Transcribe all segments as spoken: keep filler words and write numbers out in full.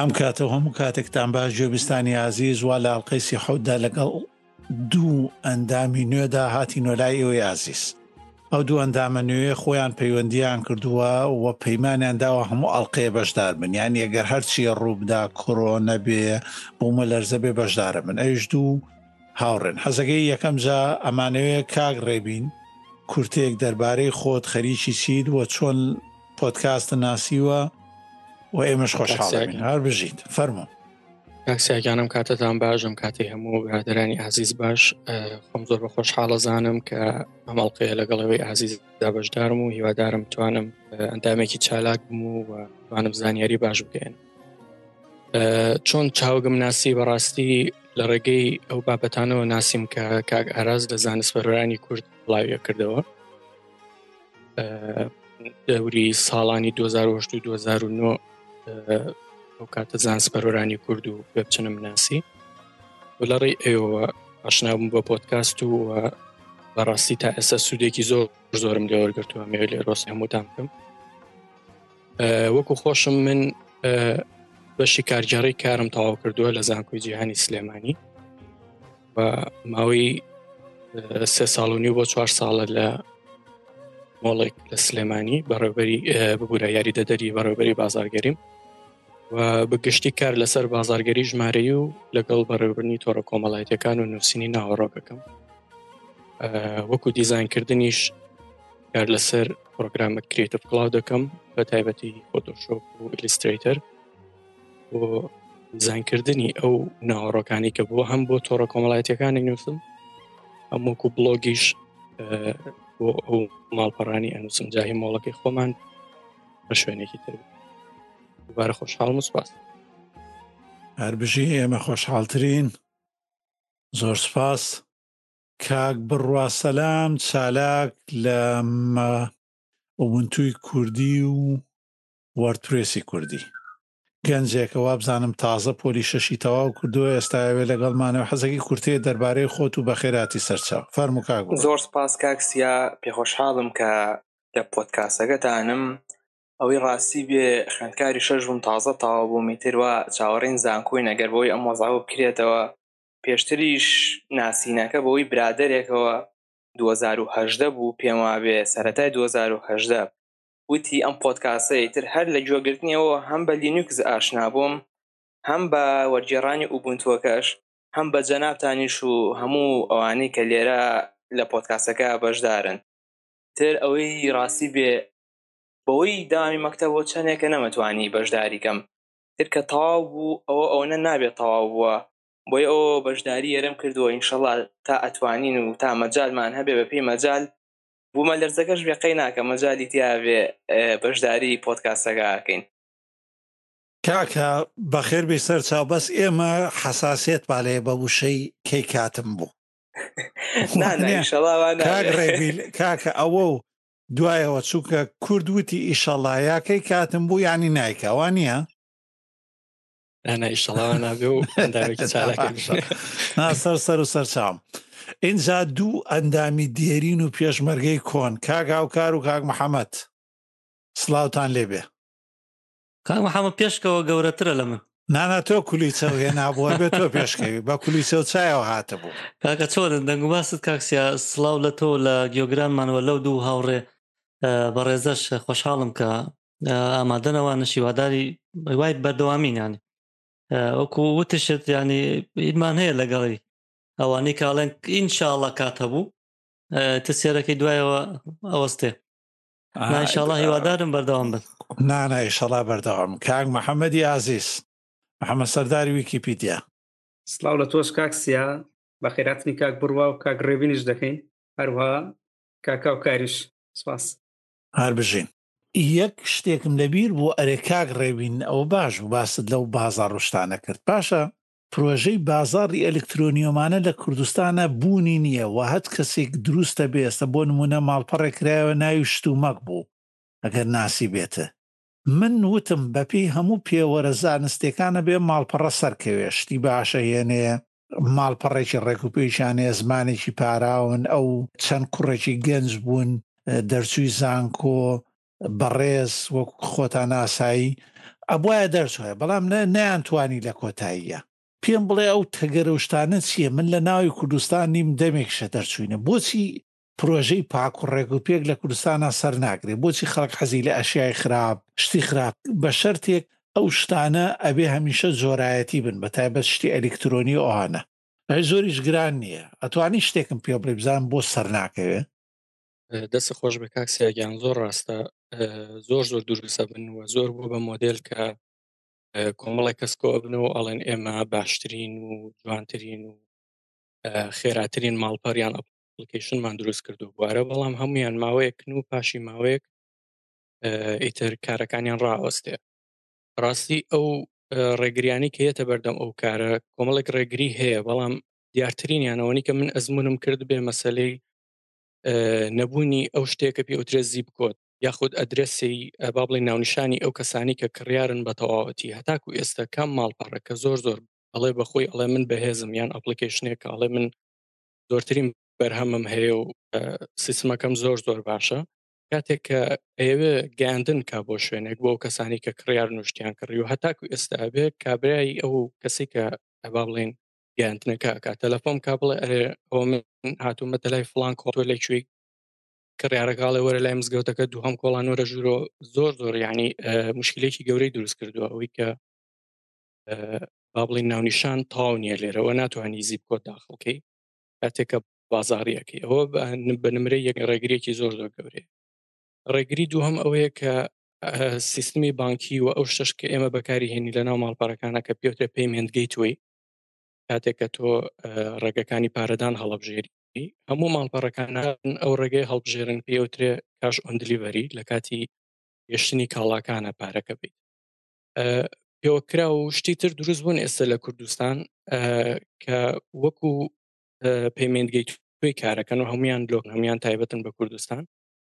ئەم کاتەوە هەموو کاتێکتان باش گوێبیستانی عزیز وا لە ئەڵقەی سی حەوتدا لەگەڵ دوو ئەندامی نوێدا هاتینۆ لای ئێوەی عزیز. ئەو دوو ئەندامە نوێ خۆیان پەیوەندیان کردووە و پەیمانیان داوە هەموو ئەڵقەیە بەشدار بن، یعنی ئەگەر هەرچیە ڕووبدا کۆڕۆنە بێ بوومە لەرزە بێ بەشدارە بن. ئەویش دوو هاوڕێن. حەزەکەی یەکەم جا ئەمانەوەیە کاک ڕێبین کورتێک دەربارەی خۆت خەریکی چیت و چۆن پۆدکاستە ناسیوە و ئێمەش خۆشحاڵین. هەر بژیت فەرموو. کاکسیاگانم کاتتان باشم، کاتی هەموو برادرانی عزیز باش. خۆم زۆر بە خۆشحاڵەزانم کە ئەمەڵقەیە لەگەڵەوەی عزیزدا بەشدارم و هیوادارم توانم ئەندامێکی چالاک بم و توانم زانیاری باش بگەین. چۆن چاوگم ناسی بەڕاستی لە ڕێگەی ئەو بابەتانەوە ناسیم کە کاک ئاراز لە زانستپەرۆرانی کورد بڵاویە کردەوە دەوری ساڵانی دوو هەزار و هەشت و دوو هەزار و نۆ ئەو کاتە زانستپەرۆرانی کورد و پێ بچنم ناسی و لە ڕێی ئێوە ئاشنابووم بە پۆدکاست و بەڕاستی تا ئێستا سوودێکی زۆر زۆرم لێ وەرگرتووە. مێوێ لێ ڕۆستی هەمووتان بکەم. وەکو خۆشم من بەشی کارگەڕی کارم تەواو کردووە لە زانکۆی جیهانی سلێمانی و ماوەی سێ ساڵ و نیو بۆ چوار ساڵە لە مۆڵێک لە سلێمانی بەڕێوەبەری ببوورە یاریدەدەری بەڕێوەبەری بازاڕگەریم و بەگشتی کار لەسەر بازاڕگەری ژمارەیی و لەگەڵ بەڕێوەبردنی تۆڕە کۆمەڵایەتیەکان و نووسینی ناوەڕۆکەکەم. وەکو دیزاینکردنیش کار لەسەر پرۆگرامە کریتیڤ کلاود دەکەم بە تایبەتی فۆتۆشۆپ و ئیلیستریتەر و دیزاینکردنی ئەو ناوەڕۆکانی کە بووە هەم بۆ تۆڕە کۆمەڵایەتیەکانی نووسم هەم وەکو بلۆگیش بۆ ئەو ماڵپەڕانی ئەنووسم جاهی مۆڵەکەی خۆمان بە شوێنێکی تر. دووبارە خۆشحاڵم و سوپاس. هەر بژی ئێمە خۆشحاڵترین. زۆر سپاس. کاک بڕوا سەلام چالاک لە ئوبونتوی کوردی و وەردپرێسی کوردی گەنجێکەوە بزانم تازە پۆلی شەشی تەواو کردووە ئێستاوێ لەگەڵمانەوە حەزەکی کورتەیە دەربارەی خۆت و بەخێراتی سەرچاو. فەرموو کاک. زۆر سپاس کاکسیا، پێخۆشحاڵم کە لە پۆدکاستەکەتانم. ئەوەی ڕاستی بێ خوێندکاری شەش بووم، تازە تەواو بوومی تروە چاوەڕێین زانکۆی نەگەر بۆی ئەم وەزاوە بکرێتەوە. پێشتریش ناسینەکە بەوەی برادێکەوە دوو هەزار و هەژدە بوو پێم وابێ سەرەتای دوو هەزار و هەژدە وتی ئەم پۆدکاستەی تر هەر لە گوێگرتنیەوە هەم بە لینوکس ئاشنا بووم، هەم بە وەرگێڕانی ئوبونتوەکەش، هەم بە جەنابتانیش و هەموو ئەوانەی کە لێرە لە پۆدکاستەکە بەشدارن. تر ئەوەی ڕاستی بێ بەوەی داوامی مەکتەبەوە چەندێکە نەمەتوانی بەشداریکەم، تر کە تەواو بوو ئەوە ئەوەنە نابێت تەواو بووە، بۆی ئەوە بەشداری یێرەم کردووە. ئینشەڵا تا ئەتوانین و تا مەجالمان هەبێ بە پێی مەجال بوومە لەرزەکەش بێقەی ناکە مەجالی تیاوێ بەشداری پۆدکاستەکەکەین. کاکە بەخێر بێ سەر چاو، بەس ئێمە حەساسێت بالێ بە وشەی کەی کاتم بوو. کاک ڕێبیل کاکە ئەوە و دوایەوە چووکە کورد وتی ئیشەڵا یاکەی کاتم بوو یانی نایکەوە نییە ناسەر سەر و سەرچاوم. ئینجا دوو ئەندامی دێرین و پێشمەرگەی کۆن، کاک هاوکار و کاک محەممەد، سڵاوتان لێبێ. کاک محەممەد پێشکەوە گەورەترە لە من. نانا تۆ کولیچەوە هێ نابووە بێت تۆ پێشکەوی بە کولیچە و چایەوە هاتە بوو. کاکە چۆن دەنگوباست کاکسیا، سڵاو لە تۆ لە گیۆگرانمانەوە لەو دوو هاوڕێ بەڕێزەش خۆشحاڵم کە ئامادەنەوە نشیواداری وای بەردەوامینانی وەکو وتشت ینی ئیمان هەیە لەگەڵی ئەوانەی کاڵێن ئینشاءڵڵا کات هەبوو تسێرەکەی دوایەوە ئەوەستێ ئینشاءڵڵا هیوادارم بەردەوام بن. نانە ئینشاءڵڵا بەردەوام. کاک محەممەدی عزیز، محەممەد سەرداری ویکیپیدیا، سڵاو لە تۆش کاکسیا، بە خێراتنی کاک بڕوا و کاک ڕێبینیش دەکەین، هەروەها کاکا و کاریش. سپاس. هەر بژین. یەک شتێکم لەبیر بۆ ئەرێ کاک ڕێبین ئەوە باش و باست لەو بازار ڕشتانە کرد. پاشە پرۆژەی بازاڕی ئەلکترۆنیۆمانە لە کوردستانە بوونی نییە و هەت کەسێک دروستە بێستە بۆ نمونە ماڵپەڕێکرایەوە ناوی شتومەک بوو ئەگەر ناسی بێتە. من وتم بەپێی هەموو پێوەرە زانستیەکانە بێ ماڵپەڕە سەرکەوێ شتی باشە هێنێ ماڵپەڕێکی ڕێکوپێکیانەیە زمانێکی پاراون ئەو چەند کوڕێکی گەنج بوون دەرچووی زانکۆ بەڕێز وەکو خۆتان ئاسایی ئەبواە دەرچوە بەڵام نەیانتوانی لە کۆتاییە پێم بڵێ ئەو تەگەرە شتانە چییە؟ من لە ناوی کوردستان نیم دەمێکشە دەرچوینە بۆچی پرۆژەی پاک و ڕێگوپێک لە کوردستانە سەر ناگرێ؟ بۆچی خەڵک حەزی لە ئەشیای خراپ شتی خراپ بە شەرتێک ئەو شتانە ئەبێ هەمیشە جۆرایەتی بن بە تایبەت شتی ئەلکترۆنی ئەوانە ئەی زۆریش گران نییە ئەتوانی شتێکم پێ بڵێ بزانم بۆ سەر ناکەوێ؟ دەست خۆش بە کاکسیاگیان زۆر ڕاستە زۆر زۆر دروستە بن و زۆر بوو بە مۆدل کە کۆمەڵی کەسکۆ بنەوە ئەڵێن ئێمە باشترین و جوانترین و خێراترین ماڵپەریان ئەپلیکیشنمان دروست کردو بوارە بەڵام هەمویان ماوەیەکن و پاشی ماوەیەک ئیتر کارەکانیان ڕاوەستێ ڕاستی ئەو ڕێگریانی کە هێتە بەردەم ئەو کارە کۆمەڵێک ڕێگری هەیە بەڵام دیارترینیانەوەنی کە من ئەزمونم کرد بێ مەسلەی نەبوونی ئەو شتێکە پێ ئوترێ زیب کۆت یاخود ئەدرسی با بڵێ ناونیشانی ئەو کەسانی کە کڕیارن بە تەواوەتی هەتاکو ئێستا کام ماڵپەڕەکە زۆر زۆر ئەڵێ بەخۆی ئەڵێ من بەهێزم یان ئەپلیکیشنێک ئەڵێ من زۆرترین بەرهەمم هەیە و سیستمەکەم زۆر زۆر باشە کاتێک کە ئێوە گەاندن کا بۆ شوێنێک بۆ ئەو کەسانی کە کڕیار نوشتیان کڕی و هەتاکو ئێستا ئەبێ کابرایی ئەو کەسی کە ئەبا بڵێن گەاندنەکە کا تەلەفۆن کا بڵێ ئەرێ ئەوە من هاتوومەتە لای فڵان کۆتۆ لەکوێی کڕیارەکڵێ وەرە لای مزگەوتەکە دووهەم کۆڵانۆرە ژورۆ زۆر زۆر یعنی مشکلێکی گەورەی دروست کردووە ئەوەی کە با بڵێن ناونیشان تاو نییە لێرەوە ناتوانانی زیب کۆت داخڵکەی کاتێکە بازاڕیەکەی ئەوە بە نمرەی یەک ڕێگرێکی زۆر زۆر گەورەیە ڕێگری دووهەم ئەوەیە کە سیستمی بانکی و ئەو شتش کە ئێمە بەکاری هێنی لە ناو ماڵپەڕەکانە کە پێوترە پەیمنت گەیتوەی کاتێک کە تۆ ڕێگەکانی پارەدان هەڵەبژێری هەموو ماڵپەڕەکانە ئەو ڕێگەی هەڵبژێرن پێوترێ کاش ئۆن دلیڤەری لە کاتی گەشتنی کاڵاکانە پارەکە بێت پێوەکرا و شتی تر دروست بوون ئێستا لە کوردستان کە وەکو پەیمنت گەیتوەی کارەکەن و هەمویان لۆک هەمویان تایبەتن بە کوردستان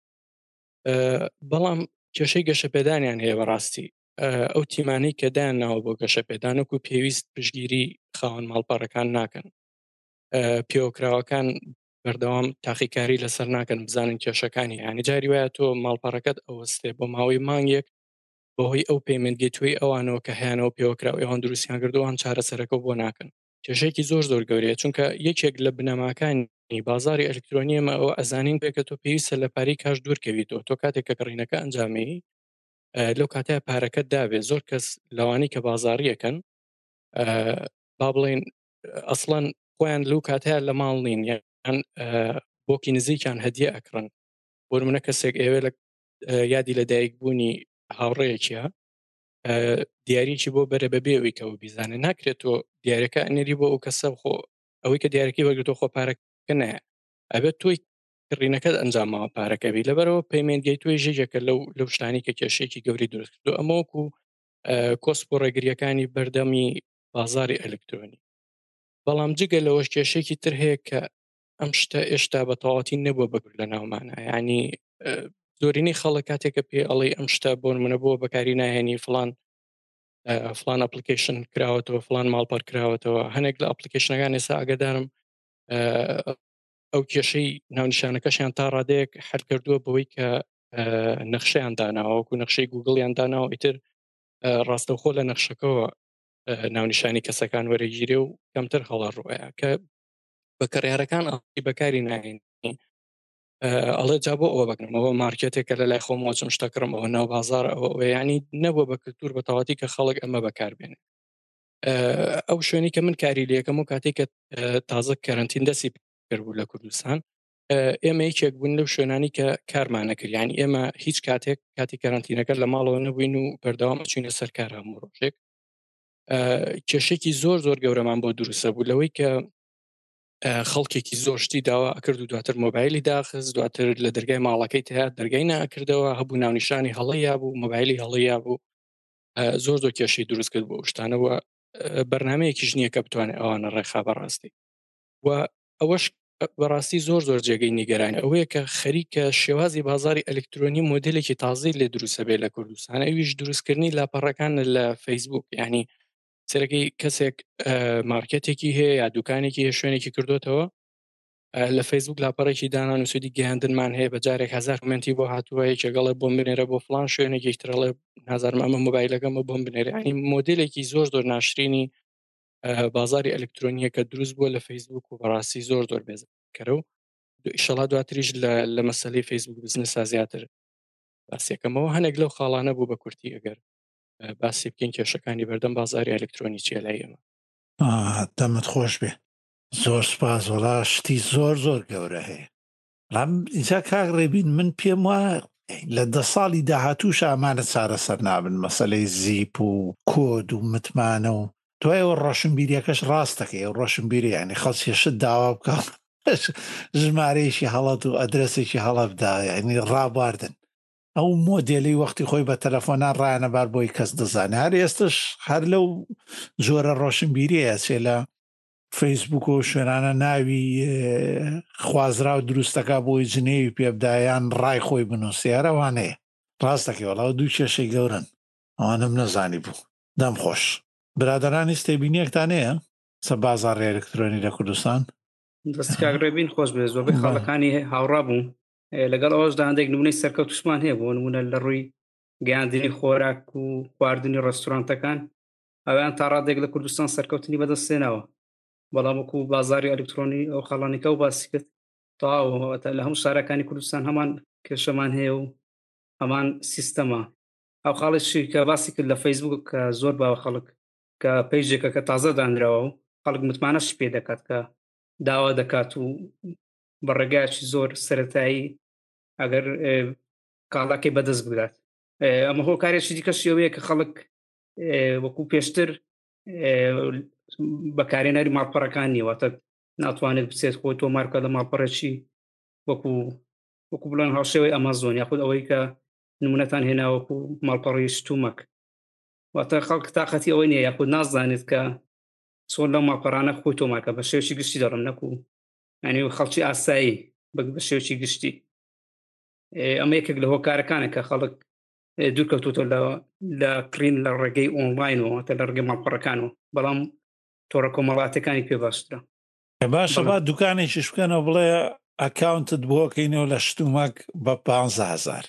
بەڵام کێشەی گەشەپێدانیان هەیە بەڕاستی ئەو تیمانەی کە دایان ناوە بۆ گەشەپێدانەک و پێویست پشگیری خاوەن ماڵپەڕەکان ناکەن پێوەکراوەکان بەردەوام تاقیکاری لەسەر ناکەن بزانن کێشەکانی یانی جاری وایە تۆ ماڵپەڕەکەت ئەوەستێ بۆ ماوەی مانگێک بەهۆی ئەو پەیمنت گەیتوەی ئەوانەوە کە هیانەوە پێوەکراو ئەوان دروستیان کردووان چارەسەرەکە بۆ ناکەن کێشەیەکی زۆر زۆر گەورەیە چونکە یەکێک لە بنەماکانی بازاری ئەلکترۆنیەمە ئەوە ئەزانین پێکە تۆ پێویستە لە پارەی کاش دوورکەویتەوە تۆ کاتێک کە کڕینەکە ئەنجامی لەو کاتای پارەکەت دابێ زۆر کەس لەوانی کە بازاڕیەکەن با بڵێن ئەسڵەن خۆیان لەو کاتەیە لە ماڵ نین یان بۆکی نزیکیان هەدیە ئەکڕن بۆ نمونە کەسێک ئێوە لە یادی لە دایک بوونی هاوڕەیەکیە دیارێکی بۆ بەرە بەبێەوەی کەەوە بیزانە ناکرێت تۆ دیارەکە ئەنێری بۆ ئەو کەسە خۆ ئەوەی کە دیارەکەی وەرگتۆ خۆ پارەکە نایە ئەبێت تۆی کڕینەکەت ئەنجامەوە پارەکەبی لەبەرەوە پەیمنت گەیتوەی ژێژەکە لەو لەو شتانی کە کێشەیەکی گەوری دروست کردو ئەمەوەکو کۆسپ و ڕێگریەکانی بەردەمی بازاری ئەلکترۆنی بەڵام جگە لەوەش کێشێکی تر هەیە کە ئەم شتە ئێشتا بە تەواوەتی نەبووە بەگرت لە ناومانە ینی زۆرینەی خەڵک کاتێکە پێ ئەڵێ ئەم شتە بۆ منە بۆ بەکاری ناهێنی فلان فلان ئەپلیکیشن کراوەتەوە فلان ماڵپەر کراوەتەوە هەنێک لە ئەپلیکیشنەکان ئێستا ئاگدارم ئەو کێشەی ناونیشانەکەشیان تا ڕادەیەک هەر کردووە بەوەی کە نەخشەیان داناوەکو نەخشەی گوگڵیان داناوە ئیتر ڕاستەوخۆ لە نەخشەکەەوە ناونیشانی کەسەکان وەرەگیرێ و کەمتر هەڵە ڕۆیە کە بەکەڕیارەکان ئەڵی بەکاری ناهێنی ئەڵێ جا بۆ ئەوە بکەم ئەوە مارکێتێکە لە لای خۆمەوەچم شتەکڕم ئەوە ناو بازار ئەوە ینی نەبووە بە کلتور بە تەواتی کە خەڵک ئەمە بەکاربێنێ ئەو شوێنی کە من کاری لەکەم و کاتێککە تازە کەرنتین دەسی کردبوو لە کوردستان ئێمە یەکێک بوون لەو شوێنانی کە کارمانە کرد ینی ئێمە هیچ کاتێک کاتی کەرنتینەکە لە ماڵەوە نەبووین و بەردەوام چوینە سەر کار هەموو ڕۆژێک کێشێکی زۆر زۆر گەورەمان بۆ دروستە بوو لەوەی کە خەڵکێکی زۆر شتی داوا ئەکرد و دواتر مۆبایلی داخست دواتر لە دەرگای ماڵەکەی تیا دەرگای ناکردەوە هەبوو ناونیشانی هەڵەیە بوو مۆبایلی هەڵەیە بوو زۆر زۆر کێشەی دروست کرد بۆ شتانەوە بەرنمەیەکی ژنیە کە بتوانێت ئەوانە ڕێخا بەڕاستی و ئەوەش بەڕاستی زۆر زۆر جێگەی نیگەرانی ئەوەیە کە خەریکە شێوازی بازاری ئەلکترۆنی مۆدلێکی تازی لێ دروستە بێت لە کوردستان ئەویش دروستکردنی لاپەڕەکان لە فەیسبوک ینی سەرەکەی کەسێک مارکێتێکی هەیە یا دوکانێکی هەیە شوێنێکی کردوتەوە لە فەیسبوک لاپەڕێکی دانان و سودی گەیاندنمان هەیە بە جارێک هزار کومنتی بۆ هاتووە یەکێگەڵێ بۆم بنێرە بۆ فلان شوێنێک یەکترەڵێ نازانم ئەمە مۆبایلەکەمە بۆم بنێرە ینی مۆدلێکی زۆر زۆر ناشرینی بازاری ئەلکترۆنیە کە دروست بووە لە فەیسبوک و بەڕاستی زۆر زۆر بێزەکەرە و ئیشەڵا دواتریش لە مەسەلەی فەیسبوک بزنسا زیاتر باسیەکەمەوە هەنێک لەو خاڵانە بوو بە کورتی ئەگەر باسی بکەین کێشەکانی بەردەم بازاری ئەلکترۆنی چیە لای ئێمە. دەمت خۆش بێ، زۆر سپاس، وەڵا شتی زۆر زۆر گەورە هەیە. ئینجا کاک ڕێبین من پێم وایە لە دە ساڵی داهاتووش ئامانە چارەسەر نابن مەسەلەی زیپ و کۆد و متمانە و دوایەوە ڕۆشنبیریەکەش ڕاستەکەی ئەو ڕۆشنبیری یعنی خەڵکیشت داوا بکە ژمارەیەکی هەڵەت و ئەدرسێکی هەڵە بدا یعنی ڕابواردن ئەو مۆدێلی وەختی خۆی بە تەلەفۆنان ڕایەنەبار بۆی کەس دەزانێت. هەر ئێستش هەر لەو زۆرە ڕۆشنبیریە چێ لە فەیسبوک و شوێنانە ناوی خوازرا و دروستەکە بۆی جنێوی پێبدایان ڕای خۆی بنووسیارەوانەیە ڕاستەکەی وەڵاو دوو کێشەی گەورن ئەوانم نەزانی بوو. دەم خۆش برادرانی ستێبینیەکتانەیە سە بازاڕی ئەلکترۆنی لە کوردستان دەستی کاگڕێبین خۆش بێ زۆربەی خاڵەکانی هاوڕا بوو لەگەڵ ئەوەشدا هەندێک نمونەی سەرکەوتوشمان هەیە بۆ نمونە لە ڕووی گەیاندنی خۆراک و خواردنی ڕێستۆرانتەکان ئەویان تا ڕادێک لە کوردستان سەرکەوتنی بەدەستێناوە بەڵام وەکو بازاری ئەلکترۆنی ئەو خاڵانێکە و باسی کرد تاوە لە هەموو شارەکانی کوردستان هەمان کێشەمان هەیە و هەمان سیستەمە. ئەو خاڵێکی کە باسی کرد لە فەیسبوک کە زۆر باوە خەڵک کە پەیژێکە کە تازە دانراوە و خەڵک متمانەش پێ دەکات کە داوا دەکات و بەڕێگایکی زۆر سەرەتایی ئەگەر کاڵاکەی بەدەست بگات. ئەمە هۆکارێکی دیکەش ئەوەیە کە خەڵک وەکو پێشتر بەکارێنەری ماڵپەڕەکان نیوەتە ناتوانێت بچێت خۆی تۆ مارکە لە ماڵپەڕێکی وەکو وەکو بڵێن هاوشێوەی ئەمازۆن یاخود ئەوەی کە نمونەتان هێنا وەکو ماڵپەڕی شتومەک واتە خەڵک تاقەتی ئەوەی نییە یاخود نازانێت کە چۆن لەو ماڵپەڕانە خۆی تۆ مارکە بە شێوەی گشتی دەڕم نەکو ینی خەڵکی ئاسایی بە شێوەی گشتی. ئەمە یەکێک لە هۆکارەکانە کە خەڵک دوورکەوتوتە لە کڕین لە ڕێگەی ئۆنلاینەوە تا لە ڕێگەی ماڵپەڕەکانەوە بەڵام تۆڕە کۆمەڵاتەکانی پێ باشترە. باشە با دوکانێکیش بکەنەوە بڵێ ئەکاونتت بۆکەینەوە لە شتومەک بە پانزە هەزار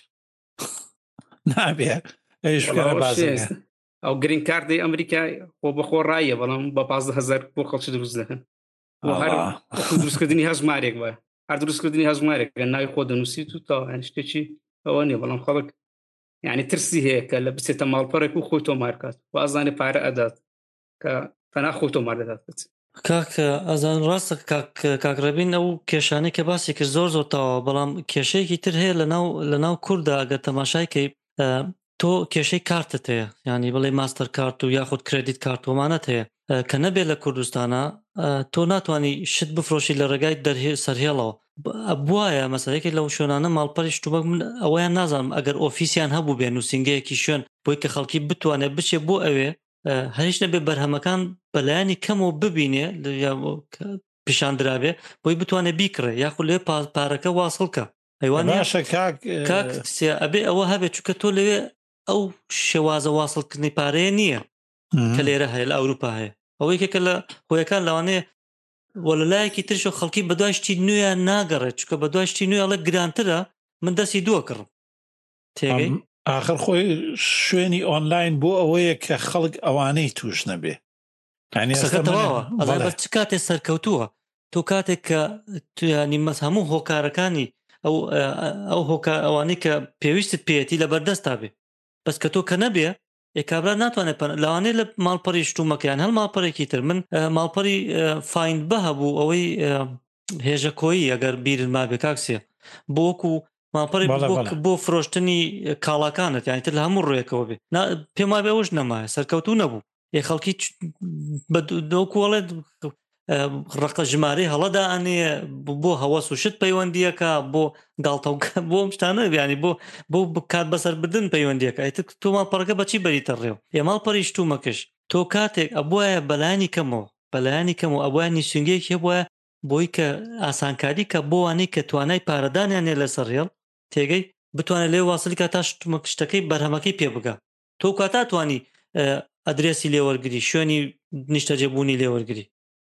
نابێ ئەیش بکەنە بازرگان ئەو گرین کاردی ئەمریکا خۆ بەخۆ ڕایە بەڵام بە پانزە هەزار بۆ خەڵکی دروست دەکەن هەر دروستکردنی هەژمارێک بە هەر دروستکردنی هەژمارێک کە ناوی خۆ دەنووسیت و تا شتێکی ئەوە نیە بەڵام خەڵک یعنی ترسی هەیە کە لە بچێتە ماڵپەڕێک و خۆی تۆ مارکات و ئازانێ پارە ئەدات کە تەنها خۆی تۆ مار دەدات. کاک ئەزان ڕاستە کاکڕەبین ئەو کێشانەی کە باسی کرد زۆر زۆر تاوە بەڵام کێشەیەکی تر هەیە لە ناو کووردا ئەگەر تەماشایکەی تۆ کێشەی کارتت هەیە ینی بڵێ ماستەر کارت و یاخود کردیت کارت ومانەت هەیە کە نەبێت لە کوردستانە تۆ ناتوانانی شت بفرۆشی لە ڕێگای دەرهێ سەرهێڵەوە بواە مەسەلەیەکی لەو شوێنانە ماڵپەڕی شتومەک من ئەویان نازانم ئەگەر ئۆفیسیان هەبوو بێ نووسنگەیەکی شوێن بۆی کە خەڵکی بتوانێت بچێ بۆ ئەوێ هەریش نەبێ بەرهەمەکان بەلایانی کەمەوە ببینێ پیشاندرابێ بۆی بتوانێت بیکڕێ یاخود لێ پارەکە واصڵکە ئەیوانشە کاک ئەبێ ئەوە هەبێت چونکە تۆ لەوێ ئەو شێوازە واصڵکردنی پارەیە نییە کە لێرە هەیە لە ئەوروپا هەیە ئەوەی کێکە لە خۆیەکان لەوانەیە وەلایەکی ترش خەڵکی بەدوایشتی نوێە ناگەڕێت چکە بەدوایشتی نوێ ئەڵێ گرانترە من دەستی دووە کڕم تێگەی آخر خۆی شوێنی ئۆنلاین بۆ ئەوەیە کە خەڵک ئەوانەی توش نەبێ ئەڵێ چ کاتێ سەرکەوتووە تۆ کاتێک کە توانی مەس هەموو هۆکارەکانی ئەو ئەو هۆکار ئەوانەی کە پێویستت پێێتی لە بەردەستا بێ بەس کە تۆ کە نەبێ ئێکابرا ناتوانێت لەوانەیە لە ماڵپەڕی شتومەکەیان هەل ماڵپەڕێکی تر من ماڵپەڕی فایند بە هەبوو ئەوەی هێژە کۆیی ئەگەر بیرن مابێ کاکسێ بۆکو ماڵپەڕی بۆ فرۆشتنی کاڵاکانت یانی تر لە هەموو ڕێکەوە بێ پێم وابێ ئەوش نەمایە سەرکەوتوو نەبوو ێ خەڵکی دۆکوڵێت ڕقە ژمارەی هەڵەدا ئەنێ بۆ هەوەس و شت پەیوەندیەکە بۆ گاڵتەوکە بۆ شتانە بیانی بۆ بۆ کات بەسەر بدن پەیوەندیەکە ئەیتر تۆ ماڵپەڕەکە بەچی بەریتە ڕێو ئێ ماڵپەڕی شتومەکەش تۆ کاتێک ئەبوایە بەلایانی کەمەوە بەلایانی کەمەوە ئەبوایە نیسنگەیەک هەبووە بۆی کە ئاسانکاری کە بۆوانەی کە توانای پارەدانیانێ لەسەر ڕێڵ تێگەی بتوانێت لێ واصلی کە تا شتەکەی بەرهەمەکەی پێ بگە تۆ کاتا توانی ئەدرێسی لێوەرگری شوێنی نیشتەجێبوونی لێوەرگری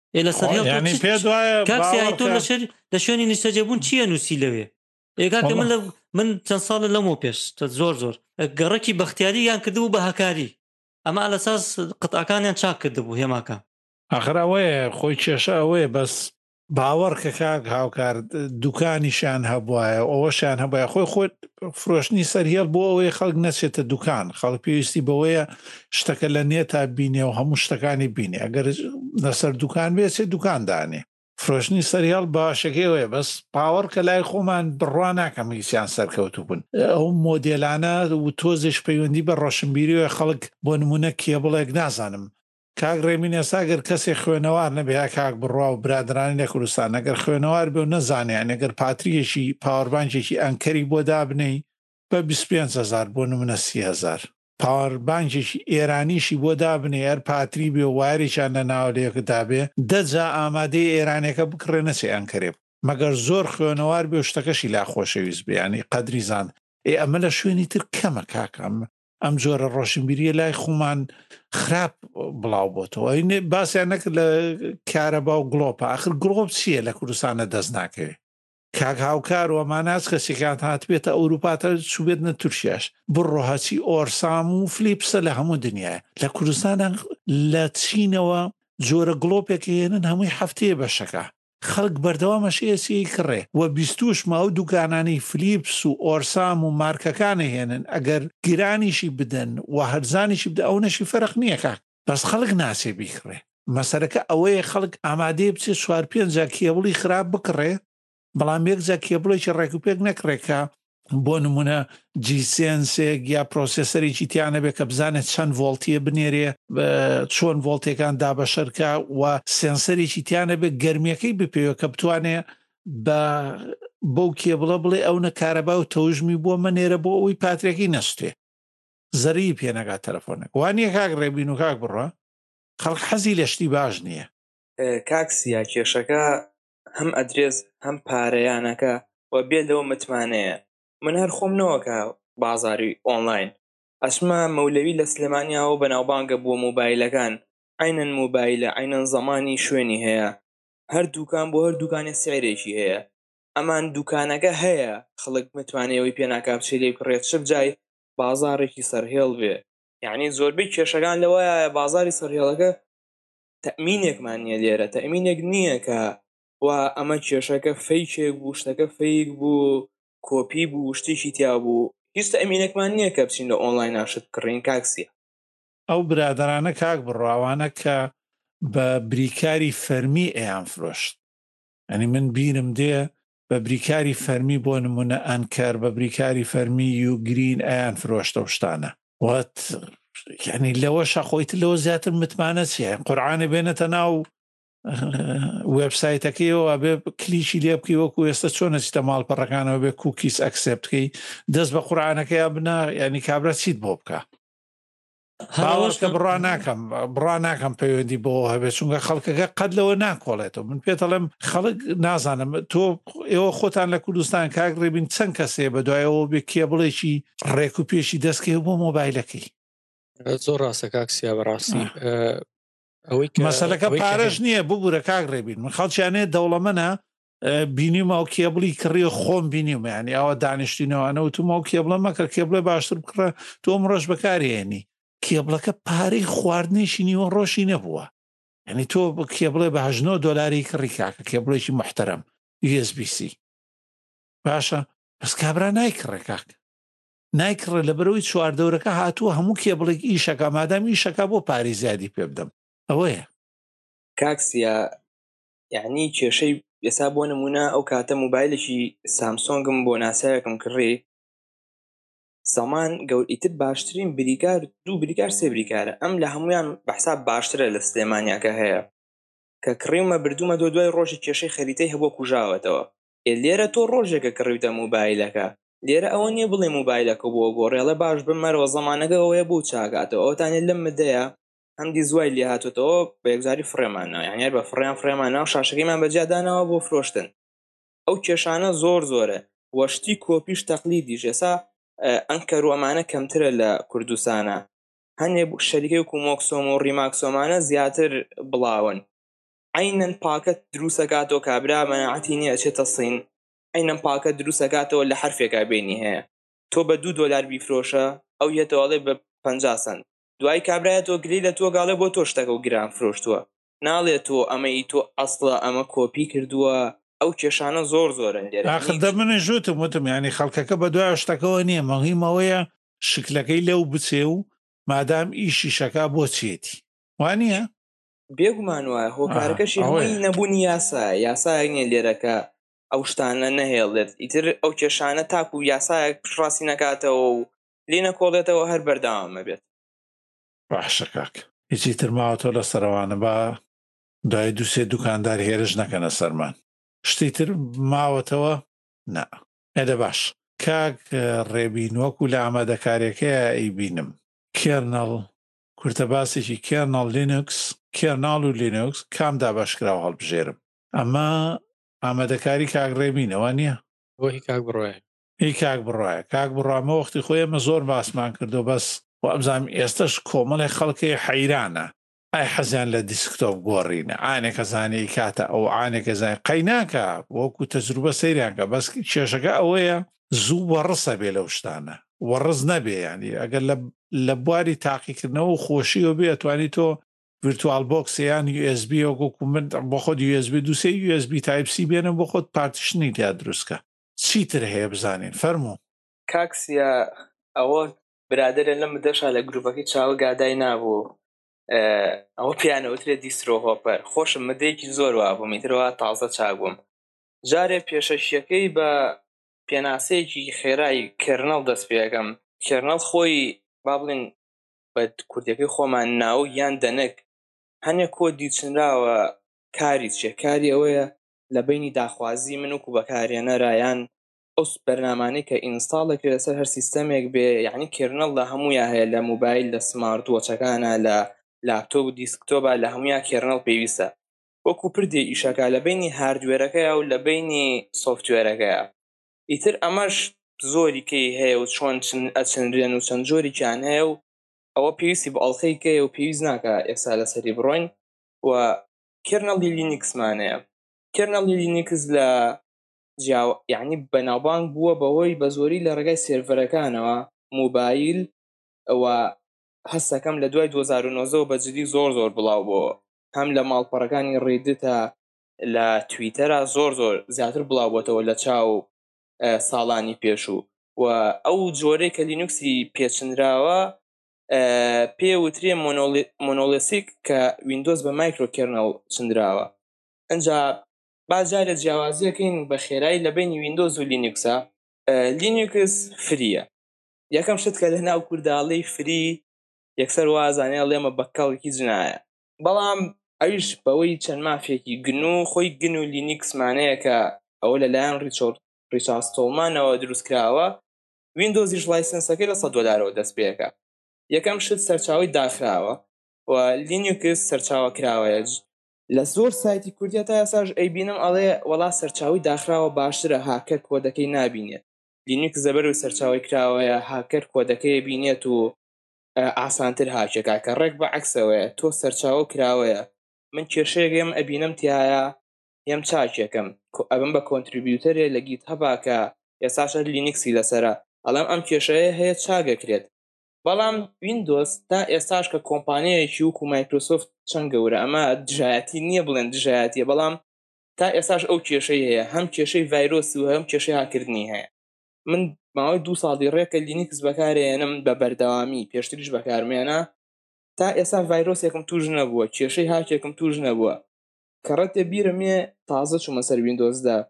لە سەرهێڵ ینی پێ دوایە کاکسی تۆ لە شەر لە شوێنی نیشتەجێبوون چییە نووسی لەوێ ئێگاکە من لە من چەند ساڵە لەمەوە پێش زۆر زۆر گەڕەکی بەختیاری یان کردبوو بە هەکاری ئەمە لەساس قەتعەکانیان چاک کردبوو هێماکە ئەخراوەیە خۆی کێشە ئەوەیە بەس باوەڕ کە کاک هاوکار دوکانیشان هەبواە ئەوەشان هەبە خۆی خۆت فرۆشتنی سەرهێڵ بۆ ئەوەی خەڵک نەچێتە دوکان خەڵک پێویستی بەوەیە شتەکە لە نێتا بینێ و هەموو شتەکانی بینێ ئەگەر لەسەر دوکان بێت دوکاندانێ فرۆشتنی سەرهێڵ باشەکەوەیە بەس باوەڕ کە لای خۆمان بڕوا ناکەم هیچیان سەرکەوتو بوون ئەو مۆدێلانە و تۆزش پەیوەندی بە ڕۆشنبیریەوە خەڵک بۆ نمونە کێبڵێک نازانم کاک ڕێمین ئێساگەر کەسێک خوێنەوار نەبێ کاک بڕوا و برادرانی لە کوردستان ئەگەر خوێنەوار بێ و نەزانیان ئەگەر پاتریەکی پاوەربانکێکی ئەنکەری بۆ دابنەی بە بیست و پێنج هەزار بۆ نمونە سی هەزار پاوەربانکێکی ئێرانیشی بۆ دابنێ هەر پاتری بێ و وایریشان لە ناوەلەیەکە دابێ دەجا ئامادەی ئێرانەکە بکڕێ نەچێ ئەنکەرێ مەگەر زۆر خوێنەوار بێ و شتەکەشی لا خۆشەویست بێ ینی قەدری زان ئێ ئەمە لە شوێنی تر کەمە کاکەم ئەم جۆرە ڕۆشنبیریە لای خۆمان خراپ بڵاو بۆتەوە باسییان نەکرد لە کارەبا و گڵۆپە ئاخر گڵۆپ چییە لە کوردستانە دەست ناکەوێت کاک هاوکار و ئەماناز کەسێکات هاتبێتە ئەوروپاتە چوبێتنە تورکیاش بڕۆ هەچی ئۆرسام و فلیپسە لە هەموو دنیاە لە کوردستانە لە چینەوە جۆرە گڵۆپێکی هێنن هەمووی هەفتەیە بەشەکە خەڵک بەردەوامەشەیەسی کڕێ و بیستوش ما و دوکانانی فلیپس و ئۆرسام و مارکەکانە هێنن ئەگەر گرانیشی بدەن و هەرزانیشی بدە ئەو نەشی فەرق نییە کاک بەس خەڵک ناسێ بیکڕێ مەسەرەکە ئەوەیە خەڵک ئامادەیە بچێت چوار پێنج جا کێبڵی خراپ بکڕێ بەڵام یەک جا کێبڵێکی ڕێکوپێک نەکڕێکە بۆ نمونە جیسنسێک یا پرۆسسەرێکی تیانە بێت کە بزانێت چەند ڤۆڵتیە بنێرێ چۆن ڤۆڵتێکان دابەشەرکە و سێنسەرێکی تیانە بێت گەرمیەکەی بپێوە کە بتوانێت بە بەو کێبڵە بڵێ ئەو نەکارەبا و تەوژمی بۆ منێرە بۆ ئەوی پاترێکی نەستێ زەری پێنەگات تەلەفۆنێک وانە کاک ڕێبین و کاک بڕە خەڵک حەزی لە شتی باش نییە کاکسیا کێشەکە هەم ئەدرێز هەم پارەیانەکە و بێ لەوە متمانەیە من هەر خۆم نەوەکە بازاری ئۆنلاین ئەسمە مەولەوی لە سلێمانیاوە بەناوبانگە بۆ مۆبایلەکان عینەن مۆبایلە عینەن زەمانی شوێنی هەیە هەر دوکان بۆ هەر دوکانێ سعرێکی هەیە ئەمان دوکانەکە هەیە خەڵک متمانەوەی پێناکا بچێت لێ بکڕێت شت جای بازارێکی سەرهێڵ بێ یعنی زۆربەی کێشەکان لەوەیە بازاری سەرهێڵەکە تەمینێکمان نییە لێرە تەمینێک نییە کە و ئەمە کێشەکە فەیکێک بوو شتەکە فەیک بوو کۆپی بوو شتێکی تیا بوو هیچ تەمینێکمان نییە کە بچین لە ئۆنلاین ناشت کڕین کاکسیە ئەو برادرانە کاک بڕاوانە کە بە بریکاری فەرمی ئەیان فرۆشت ئەنی من بیرم دێ بە بریکاری فەرمی بۆ نمونە ئەنکەر بە بریکاری فەرمی و گرین ئەیان فرۆشتە شتانە وات یعنی لەوە شەخۆیت لەوە زیاتر متمانە چیە قورعانە بێنێتە ناو وێبسایتەکەیەوە بێ کلیشی لێ بکەی وەکو ئێستا چۆنە چیتە ماڵپەڕەکانەوە بێ کوکیس ئەکسێپتکەی دەست بە قورعانەکەی بنا ینی کابرا چیت بۆ بکە باوەشکە بڕا ناکەم بڕا ناکەم پەیوەندی بۆ هەبێت چونکە خەڵکەکە قەت لەوە ناکۆڵێتەوە من پێتەڵێم خەڵک نازانم تۆ ئێوە خۆتان لە کوردستان کاک ڕێبین چەند کەسێ بە دوایەوە بێ کێبڵێکی ڕێک و پێشی دەستکەی بۆ مۆبایلەکەی زۆر ڕاستە کاکسیا بەڕاستی ئەوەی مەسەلەکە پارەش نییە ببوورە کاک ڕێبین من خەڵکیانێت دەوڵەمەنە بینیمە و کێبڵی کڕی خۆم بینیمە ینی ئەوە دانیشتینەوەانە و تومە و کێبڵە مەکە کێبڵێ باشتر بکڕە تۆم ڕۆژ بەکارێنی کێبڵەکە پارەی خواردنێشی نیوە ڕۆژی نەبووە ینی تۆ کێبڵێ بە هەژنۆ دۆلاری کڕی کاکە کێبڵێکی محتەرەم یو ئێس بی سی باشە بەس کابرا نایکڕێ کاک نایکڕێ لە بەرەوەی چواردەورەکە هاتووە هەموو کێبڵێک ئیشەکە مادام ئیشەکە بۆ پاری زیادی پێ بدەم ئەوەیە کاکسیا یعنی کێشەی ئێستا بۆ نمونە ئەو کاتە مۆبایلێکی سامسۆنگم بۆ ناسایەکم کڕی زەمان گەورئیتر باشترین بریکار دوو بریکار سێ بریکارە ئەم لە هەمویان بەحساب باشترە لە سلێمانیاکە هەیە کە کڕیمە بردومە دۆ دوای ڕۆژی کێشەی خەریتەی هەبوو کوژاوەتەوە لێرە تۆ ڕۆژێکە کڕیتە مۆبایلەکە لێرە ئەوە نییە بڵێ مۆبایلەکە بۆ گۆڕێڵە باش بمەرەوە زەمانەکە ئەوەیە بوو چاکاتەوە ئەوتانێت لەم مدەیە هەندی زوای لێ هاتوتەوە بە یەکجاری فڕێمانەوە یانیار بە فڕیان فرێمانەوە شاشەکەیمان بەجیادانەوە بۆ فرۆشتن ئەو کێشانە زۆر زۆرە وەشتی کۆپیش تەقلیدیش ئێستا ئەنکەر و ئەمانە کەمترە لە کوردستانە هەنێ شەریکەی وکو مۆکسۆم و ڕیماکسۆمانە زیاتر بڵاون عینەن پاکەت دروستەکاتەوە کابرا مەناعەتی نییە ئەچێتە سین عینەن پاکەت دروستەکاتەوە لە حرفێکا بینی هەیە تۆ بە دوو دۆلار بیفرۆشە ئەو یەتەوەڵێ بە پەنجا سەنت دوای کابرایە تۆ گری لە تۆ گاڵێ بۆ تۆ شتەکە و گران فرۆشتووە ناڵێت تۆ ئەمەی تۆ ئەسڵە ئەمە کۆپی کردووە ئەو کێشانە زۆر زۆرن لێرە ئاخردە منە ژوتم وتم ینی خەڵکەکە بە دوای شتەکەەوە نییە مەڵیمەوەیە شکلەکەی لەو بچێ و مادام ئیشی شەکا بۆ چێتی وانە بێگومان وایە هۆکارەکەشی هەمووی نەبوونی یاسا یاسایەک نیە لێرەکە ئەو شتانە نەهێڵێت ئیتر ئەو کێشانە تاکو و یاسایەک پشڕاستی نەکاتەوە و لێ نەکۆڵێتەوە هەر بەردەوامە بێت باشە کاک هیچی تر ماوە تۆ لە سەرەوانە بە دوای دووسێ دوکاندار هێرش نەکەنە سەرمان شتی تر ماوەتەوە نا ئێدە باش کاک ڕێبینوەکو لە ئامادەکاریەکەیە ئەیبینم کێرنەڵ کورتە باسێکی کێرنەڵ لینوکس کێرناڵ و لینوکس کامدا باشکراوە هەڵبژێرم ئەمە ئامادەکاری کاک ڕێبینەوە نییە بۆ هی کاک بڕۆیە هی کاک بڕایە کاک بڕامە وەختی خۆی ئەمە زۆر باسمان کردو بەس و ئەمزانام ئێستش کۆمەڵی خەڵکی حەیرانە ئای حەزیان لە دیسکتۆپ گۆڕینە ئانێکە زانێ کاتە ئەو ئانێکە زای قەیناکە وەکو تەجروبە سەیرانکە بەس کێشەکە ئەوەیە زوو وەڕسە بێ لەو شتانە وەڕز نەبێ ینی ئەگەر لە بواری تاقیکردنەوە و خۆشیەوە بێ ئەتوانی تۆ ڤیرتوال بۆکسیان یو ئس بی وەکو من بۆ خۆت یو ئس بی دووسێ یو ئس بی تایپ سی بێنم بۆ خۆت پارتیشنی لیا دروستکە چیتر هەیە بزانین فەرموو کاکسیا ئەوە برادرە لەم دەشا لە گروپەکەی چاوە گادای نابوو ئەوە پیانەوترێ دیسترۆ هۆپەر خۆشم مدەیەکی زۆر وابووم میترەوە تازە چاگوم جارێ پێشەشیەکەی بە پێناسەیەکی خێرایی کێرنەڵ دەست پێەکەم کێرنەڵ خۆی با بڵێن بە کوردەکەی خۆمان ناو یان دەنک هەنێک کۆ دیچنراوە کاری چێ کاری ئەوەیە لە بینی داخوازی من وکو بەکارێنەرایان ئەو بەرنامانەی کە ئینستاڵێکی لەسەر هەر سیستەمێک بێ یعنی کێرنەڵ لە هەموویە هەیە لە موبایل لە سمارت وۆچەکانە لە لاپتۆپ و دیسکتۆپە لە هەموویە کێرنەڵ پێویستە وەکو پردێ ئیشەکە لە بینی هاردوێرەکەیە و لە بینی سۆفتوێرەکەیە ئیتر ئەمەش زۆری کەی هەیە و چۆن ئەچەندرێن و چەند جۆریان هەیە و ئەوە پێویستی بە ئەڵخەیکەیە و پێویست ناکە ئێستا لەسەری بڕۆین و کێرنەڵی لینیکسمانەیە کێرنەڵی لینیکس لە یعنی بەناوبانگ بووە بەهۆی بە زۆری لە ڕێگای سێرڤەرەکانەوە موبایل ئەوە هەستەکەم لە دوای دوو هەزار و نۆزدە بەجددی زۆر زۆر بڵاو بووە هەم لە ماڵپەڕەکانی ڕێدتە لە تویتەرە زۆر زۆر زیاتر بڵاو بۆتەوە لە چاو ساڵانی پێشوو و ئەو جۆرەی کە لینوکسی پێچنراوە پێوترێ مۆنۆلیسیک کە ویندۆز بە مایکرۆ کێرنەڵ چندراوە ئەنجا بازارە جیاوازیەکەین بە خێرایی لە بینی ویندۆز و لینوکسە لینوکس فریە یەکەم شت کە لە ناو کورداڵی فری یەکسەر وازانێ لێمە بەکەڵێکی جنایە بەڵام ئەویش بەوەی چەند مافێکی گن و خۆی گن و لینوکسمانەیە کە ئەوە لەلایەن ریچارد ستۆڵمانەوە دروستکراوە ویندۆزیش لایسنسەکەی لە سەد دۆلارەوە دەست پێەکە یەکەم شت سەرچاوی داخراوە و لینوکس سەرچاوە کراوەیە لە زۆر سایتی کوردیا تا ئێساش ئەیبینم ئەڵێ وەڵا سەرچاوی داخراوە باشترە هاکەر کۆدەکەی نابینێت لینوکس زەبەر و سەرچاوی کراوەیە هاکەر کۆدەکەی بینێت و ئاسانتر هاکێکا کە ڕێک بە عەکسەوەیە تۆ سەرچاوە کراوەیە من کێشەیەکم ئەبینم تایە هێم چاکێکم ئەبم بە کۆنتریبیوتەرێ لە گیت هەبا کە ئێساشە لینوکسی لەسەرە ئەڵام ئەم کێشەیە هەیە چاگەکرێت بەڵام ویندۆز تا ئێستاش کە کۆمپانیایەکی وکو مایکرۆسۆفت چەند گەورە ئەمە دژایەتی نییە بڵێن دژایەتیە بەڵام تا ئێستاش ئەو کێشەی هەیە هەم کێشەی ڤایرۆس و هەم کێشەی هاکردنی هەیە من ماوەی دوو ساڵی ڕێکە لینوکس بەکارێنم بە بەردەوامی پێشتریش بەکارمێنە تا ئێستا ڤایرۆسێکم توش نەبووە کێشەی هاکێکم توش نەبووە کە ڕەتێ بیرمێ تازە چوومە سەر ویندۆزدا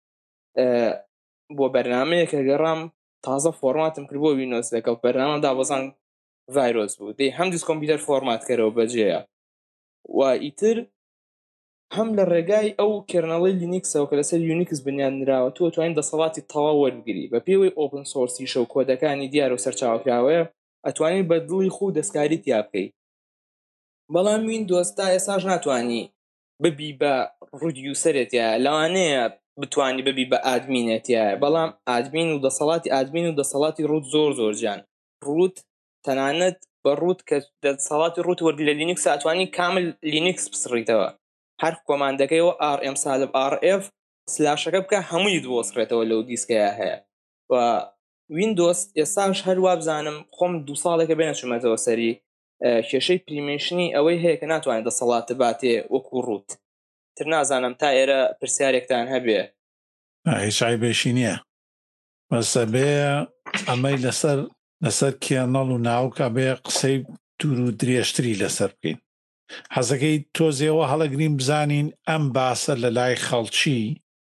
بۆ بەرنامەیەکە گەڕام تازە فۆرماتم کرد بۆ ویندۆز لەگەڵ بەرنامە دابەزان ڤایرۆس بوو دەی هەم دیس کۆمپیوتەر فۆرمات کەرەوە بەجێیە و ئیتر هەم لە ڕێگای ئەو کێرنەڵی لینوکسەوە کە لەسەر یونیکس بنیانراوە تۆ توانین دەسەڵاتی تەواو وەربگری بە پێوەی ئۆپن سۆرسی شەو کۆدەکانی دیار و سەرچاوکراوەیە ئەتوانین بە دڵی خۆ دەستکاری تیا بکەیت بەڵام ویندۆز تا ئێساش ناتوانی ببی بە ڕودیوسەرێتە لەوانەیە بتوانی ببی بە ئادمینێتە بەڵام ئادمین و دەسەڵاتی ئادمین و دەسەڵاتی ڕوت زۆر زۆر جان ڕوت تەنانەت بە ڕوت کە دەسەڵاتی ڕوت وەرگ لە لینوکس ئەتوانی کامل لینوکس بسڕیتەوە هەر کۆماندەکەیەوە آر ئێم سالب آر ئێف سلاشەکە بکە هەمووی دۆسڕێتەوە لەو دیسکەیە هەیە و ویندۆس ئێستاش هەروە بزانم خۆم دوو ساڵێکە بێنە چوومەتەوە سەری کێشەی پریمێشنی ئەوەی هەیە کە ناتوانێت دەسەڵاتە باتێ وەکو ڕوت تر نازانم تا ئێرە پرسیارێکتان هەبێ هیچ عیبێشی نییە بەسە بێ ئەمەی لەسەر لەسەر کێنەڵ و ناوکە بێ قسەی دوور و درێژتری لەسەر بکەین حەزەکەی تۆزێەوە هەڵەگرین بزانین ئەم باسە لە لای خەڵکی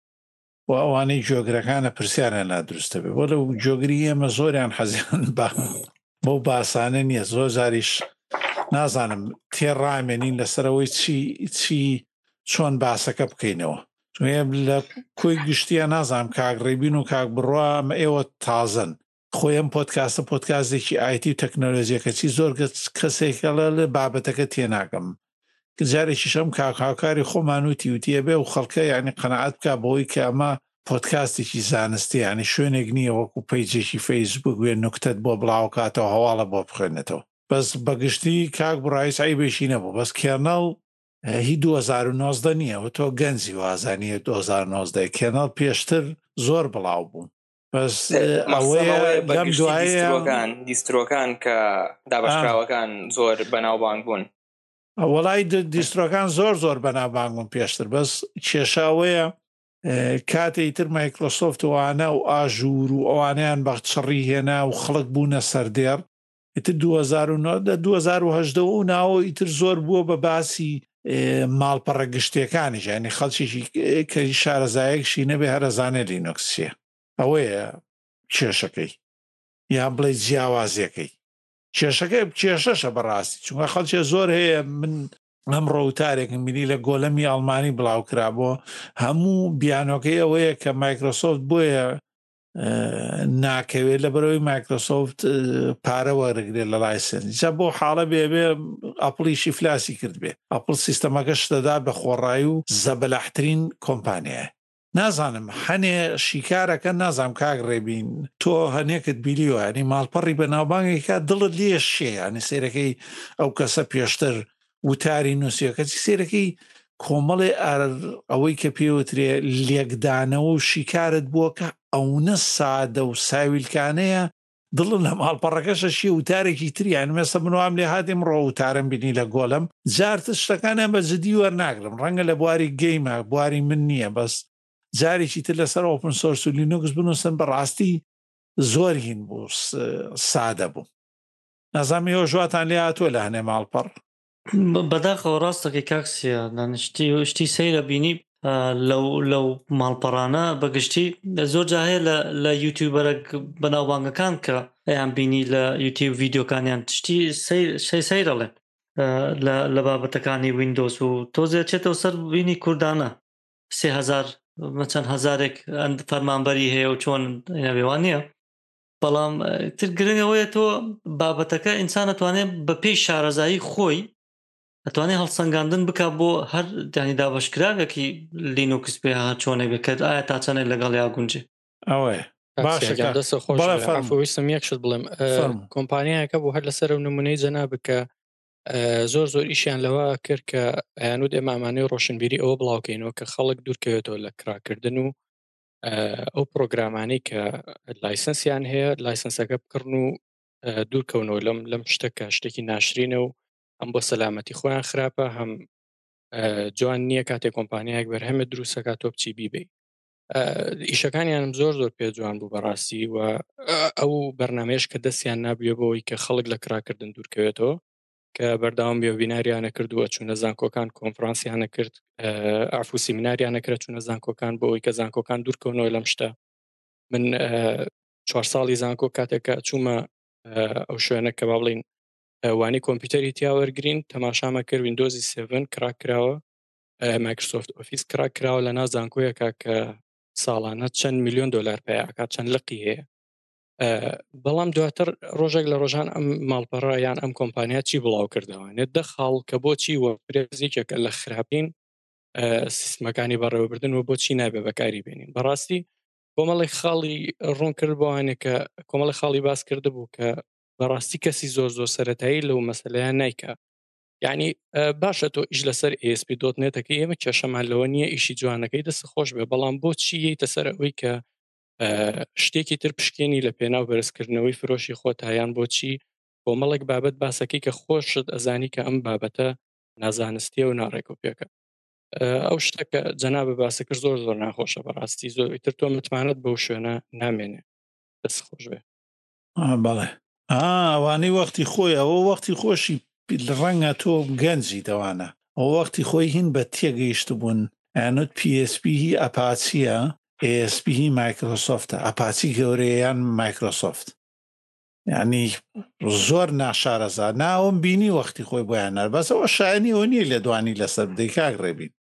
و ئەوانەی جۆگرەکانە پرسیارە نادروستە بێ بۆ لەو جۆگری ئێمە زۆریان حەزیان بۆ باسانە نییە زۆر زاریش نازانم تێڕامێنین لەسەرەوەی چی چی چۆن باسەکە بکەینەوە لە کۆی گشتیە نازانم کاک ڕێبین و کاک بڕوا ئەمە ئێوە تازن خۆیان پۆدکاستە پۆدکاستێکی ئایتی و تەکنۆلۆژیەکەچی زۆر کەسێکە لە بابەتەکە تێناکەم جارێکی شەم کاکاوکاری خۆمان وتی وتیە بێ و خەڵکە یعنی قەنەعەت بکە بەوەی کە ئەمە پۆدکاستێکی زانستی ینی شوێنێک نییە وەکو پەیجێکی فەیسبوک وێ نوکتت بۆ بڵاوکاتەوە هەواڵە بۆ بخوێنێتەوە بەس بەگشتی کاک بڕای سایبێشی نەبوو بەس کێنەڵ هی دو هەزار و نۆزدە نییە و تۆ گەنجی وازانیە دو هەزار و نۆزدە کێنەڵ پێشتر زۆر بڵاو بوو بەس ئەوەیە لەم دوایەکان دیسترۆکان کە دابشراوەکان زۆر بەناوبانگ بوون وەڵای دیسترۆکان زۆر زۆر بەناوبانگ بوون پێشتر بەس کێشاوەیە کاتێک تر مایکرۆسۆفتوانە و ئاژور و ئەوانیان بە چڕی هێنا و خەڵک بوونە سەردێر ئیتر دو هەزار و نۆ دو هەزار و هەژدە و ناوە ئیتر زۆر بووە بە باسی ماڵپەڕە گشتیەکانیش ینی خەڵکیشی کە شارەزایەکشی نەبێ هەرەزانێ لینۆکسیە ئەوەیە کێشەکەی یان بڵێ جیاوازیەکەی کێشەکەی کێشەشە بەڕاستی چونکە خەڵکێ زۆر هەیە من ئەم ڕۆوتارێکم میلی لە گۆلەمی ئەڵمانی بڵاوکرا بۆ هەموو بیانۆکەی ئەوەیە کە مایکرۆسۆفت بۆیە ناکەوێت لە بەرەوەی مایکرۆسۆفت پارە وەرەگرێت لە لایسەن جا بۆ حاڵە بێ بێ ئەپڵیشی فلاسی کرد بێ ئەپڵ سیستەمەکە شتەدا بە خۆڕایی و زەبەلەحترین کۆمپانیایە نازانم هەنێ شیکارەکە نازانم کاک ڕێبین تۆ هەنێکت بیلیۆ ینی ماڵپەڕی بەناوبانگێکا دڵت لێ شێ ینی سێرەکەی ئەو کەسە پێشتر وتاری نووسیەکەی سێرەکەی کۆمەڵێ ئەوەی کە پێوترێ لێکدانەوە و شیکارت بووە کە ئەوونە سادە و ساویلکانەیە دڵن لە ماڵپەڕەکەشە شی وتارێکی تریان مێستا بنوام لێ هاتیم ڕۆ وتارم بینی لە گۆلم جارتە شتەکانە بە جدی وەرناگرم ڕەنگە لە بواری گەیمە بواری من نییە بەس جارێکی تر لەسەر ئۆپن سۆرس و لینوکس بنووسن بەڕاستی زۆر هین بوو سادە بوو نازامی ئەو ژواتان لێ هاتووە لە هەنێ ماڵپەڕ بەداخەوە ڕاستەکەی کاکسیە دانشتی و شتی سەیرە بینی لەو لەو ماڵپەڕانە بەگشتی زۆر جا هەیە لە یوتیوبەرە بەناوبانگەکان کە ئەیان بینی لە یوتیوب ڤیددیۆکانیان تشتی سەیرەڵێن لە بابەتەکانی ویندۆز و تۆزێت چێتەوە سەر بینی کوردانە سێ هەزار چەند هەزارێک فەرمانبەری هەیە و چۆن نەوێوان نییە بەڵام تر گرنگەوەیە تۆ بابەتەکە ئینسان ئەتوانێت بە پێی شارەزایی خۆی ئەتوانێت هەڵسەنگاندن بک بۆ هەر دانی دابشکراوێکی لینوکس پێ ها چۆنێک بکرد ئایا تا چەندێک لەگەڵ یا گونجێ ئەوەیە باشدەستە خۆشویستم یەکشت بڵێم کۆمپانیایەکە بۆ هەر لەسەر نمونەی جەنا بکە زۆر زۆر ئیشیان لەوە کرد کە ئەیانود ئێمامانەی ڕۆشنبیری ئەوە بڵاوکەینەوە کە خەڵک دوورکەوێتەوە لە کراکردن و ئەو پرۆگرامانەی کە لایسنسیان هەیە لایسنسەکە بکڕن و دوورکەونەوە لەم لەم شتەکە شتێکی ناشرینە و ئەم بۆ سەلامەتی خۆیان خراپە هەم جوان نییە کاتێک کۆمپانیایەک بەرهەمە دروستەکە تۆ بچی بیبێ ئیشەکانیانم زۆر زۆر پێ جوان بوو بەڕاستی و ئەو بەرنمەیەش کە دەستیان نابیێ بەوەی کە خەڵک لە کراکردن دوورکەوێتەوە کە بەرداوام بێ بیناریانە کردووە چوونە زانکۆکان کۆنفرانسیانە کرد ئافو سیمیناریانە کرد چوونە زانکۆکان بۆ ئەوەی کە زانکۆکان دوورکەونەوە لەم شتە من چوار ساڵی زانکۆ کاتێکە چوومە ئەو شوێنە کە با بڵین وانی کۆمپیوتەری تیاوەرگرین تەماشامە کرد ویندۆزی سێڤن کراک کراوە مایکرۆسۆفت ئۆفیس کراک کراوە لە ناو زانکۆیەکە کە ساڵانە چەند میلیۆن دۆلار پێیاکات چەند لقی هەیە بەڵام دواتر ڕۆژێک لە ڕۆژان ئەم ماڵپەڕە یان ئەم کۆمپانیا چی بڵاو کردەوەێت دە خاڵ کە بۆچی وەپرێزیکێکە لە خراپین سیستمەکانی بەڕێوەبردن و بۆچی نابێ بەکاری بێنین بەڕاستی کۆمەڵی خاڵی ڕوون کرد بۆوانێک کە کۆمەڵی خاڵی باس کرده بوو کە بەڕاستی کەسی زۆر زۆر سەرەتایی لەو مەسەلەیان نایکە یعنی باشە تۆ ئیش لەسەر ئێ ئێس پی دۆت نێتەکە ئێمە کێشەمان لەوە نییە ئیشی جوانەکەی دەست خۆش بێ بەڵام بۆچی یەیتە سەر ئەوەی کە شتێکی تر پشکێنی لە پێناو بەرزکردنەوەی فرۆشی خۆتایان بۆچی کۆمەڵێک بابەت باسەکەی کە خۆشت ئەزانی کە ئەم بابەتە نازانستیە و ناڕێک و پێکە ئەو شتەکە جەنابە باسە کرد زۆر زۆر ناخۆشە بەڕاستی زۆر تر تۆ متمانەت بەو شوێنە نامێنێ دەست خۆش بێ بەڵێ ئەوانەی وەختی خۆی ئەوە وەختی خۆشی ڕەنگە تۆ گەنجی دەوانە ئەو وەختی خۆی هین بە تێگەیشت بوون ئەنوت پی ئێس پی هی ئەپاچیە ئێ ئێس پی هی مایکرۆسۆفتە ئەپاچی گەورەیان مایکرۆسۆفت یعنی زۆر ناشارەزا ناوم بینی وەختی خۆی بۆیان نەر بەس ئەوە شایانی ئەو نییە لە دوانی لەسەر بدەی کاک ڕێبین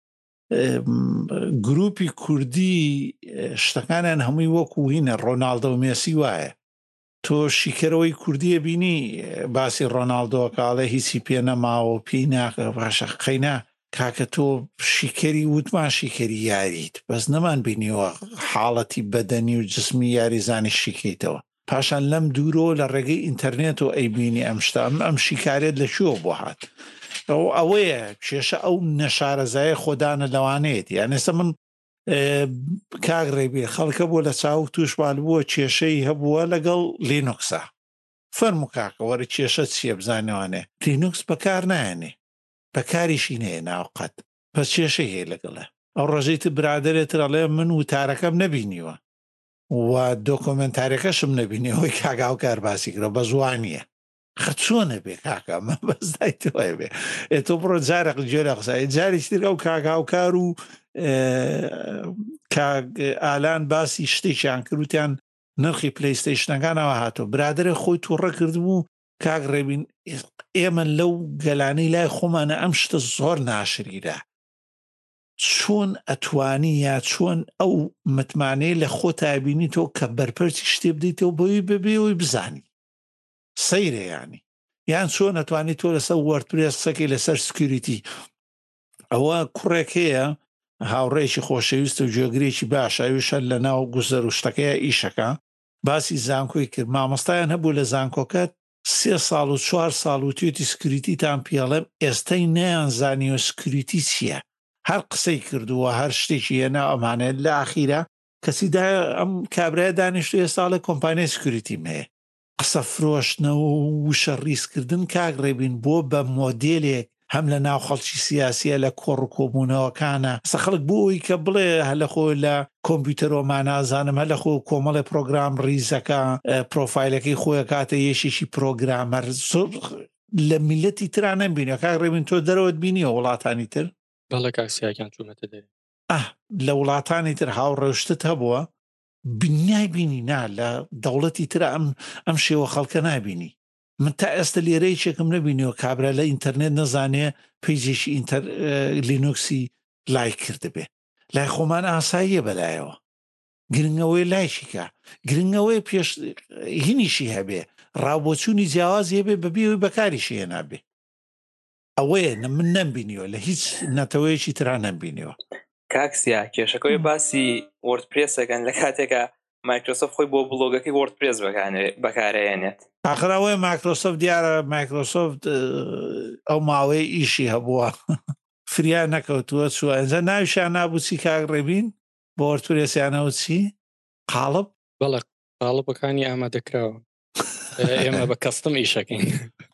گروپی کوردی شتەکانیان هەمووی وەکو هینە ڕۆناڵدە و مێسی وایە تۆ شیکەرەوەی کوردیە بینی باسی ڕۆناڵدۆ کاڵێ هیچی پێ نەماوە پێی ناکە باشە قەینا کاکە تۆ شیکەری وتمان شیکەری یاریت بەس نەمان بینیوە حاڵەتی بەدەنی و جسمی یاریزانی شیکەیتەوە پاشان لەم دوورۆ لە ڕێگەی ئینتەرنێت و ئەیبینی ئەم شتە ئەم شیکارێت لەکوێوە بۆ هات ئەوەیە کێشە ئەو نەشارەزایە خۆدانە لەوانەیەت یان ئێستا من کاک ڕێبێ خەڵکە بۆ لە چاو تووشبال بووە کێشەی هەبووە لەگەڵ لینوکسە فەرمو کاکە وەرە کێشە چیە بزانەوانێ لینوکس بەکار نایەنێ بەکاریشی نەیە ناوقەت پس کێشەی هەیە لەگەڵە ئەو ڕۆژەیت برادرێت ڕەڵێ من وتارەکەم نەبینیوە و دۆکۆمنتارەکەشم نەبینیەوەی کاگاو کار باسی کرە بە زوانیە خەچۆنە بێ کاکە مە بەزدای تۆی بێ تۆ بڕۆ جارێک جێرە قسای جارێک تر ئەو کاگاوکار و ئالان باسی شتێکیان کردوتیان نرخی پلەیستەیشنەکانەوە هاتۆ برادرە خۆی تووڕە کردبوو کاک ڕێبین ئێمە لەو گەلانەی لای خۆمانە ئەم شتە زۆر ناشریرە چۆن ئەتوانی یا چۆن ئەو متمانەی لە خۆ تابینی تۆ کە بەرپەرچی شتێ بدەیتەوە بۆی ببێەوەی بزانی سەیرە ینی یان چۆن ئەتوانی تۆ لەسەر وەردپرێس سەکەی لەسەر سکیوریتی ئەوە کوڕێکەیە هاوڕێکی خۆشەویست و جێگرێکی باشەویشە لە ناو گوزەر و شتەکەیە ئیشەکە باسی زانکۆی کرد مامۆستایان هەبوو لە زانکۆکەت سێ ساڵ و چوار ساڵ و توێتی سکیوریتیتان پێڵێم ئێستای نەیان زانیوە سکیوریتی چییە هەر قسەی کردووە هەر شتێکی هێنا ئەمانێت لە ئاخیرە کەسیدا ئەم کابرای دانیشتو ئێستا لە کۆمپانیای سکیوریتیم هەیە قسە فرۆشتنەوە و وشە ڕیسکردن کاک ڕێبین بۆ بە مۆدێلێک هەم لە ناو خەڵکی سیاسیە لە کۆڕ و کۆبوونەوەکانە سە خەڵک بۆی کە بڵێ هەلە خۆ لە کۆمپیوتەرۆما نازانم هەلە خۆ کۆمەڵی پرۆگرام ڕیزەکە پرۆفایلەکەی خۆیە کاتە یەشێکی پرۆگرامەر لە میلەتی تران نەبینە کاک ڕێبین تۆ دەرەوەت بینیە وڵاتانی تر بەڵێ کاکسیاکیان چوونەتە دەرێ ئەه لە وڵاتانی تر هاوڕێشتت هەبووە بینای بینی نا لە دەوڵەتی تر ئەم ئەم شێوە خەڵکە نابینی من تا ئێستا لێرەی چێکم نەبینیەوە کابرا لە ئینتەرنێت نەزانێ پیجێکی ئینتەر لینوکسی لای کردبێ لای خۆمان ئاساییە بەلایەوە گرنگەوەی لایشیکە گرنگەوەی پێش هینیشی هەبێ ڕاوبۆچوونی جیاوازی هەبێ بەبێەوەی بەکاریشی هێنابێ ئەوەیە من نەمبینیوە لە هیچ نەتەوەیەکی تران نەمبینیوە کاکسیا کێشەکەی باسی وەردپرێسەکەن لە کاتێکە مایکرۆسۆفت خۆی بۆ بڵۆگەکەی وەردپرێس بەکارهێنێت ئاخراوەی مایکرۆسۆفت دیارە مایکرۆسۆفت ئەو ماوەی ئیشی هەبووە فریا نەکەوتووە چووە ئەنجە ناویشیان نابوو چی کاک ڕێبین بۆ وەردپرێسیانەوە چی قاڵب بەڵێ قاڵبەکانی ئامادەکراوە ئێمە بە کەستم ئیشەکەین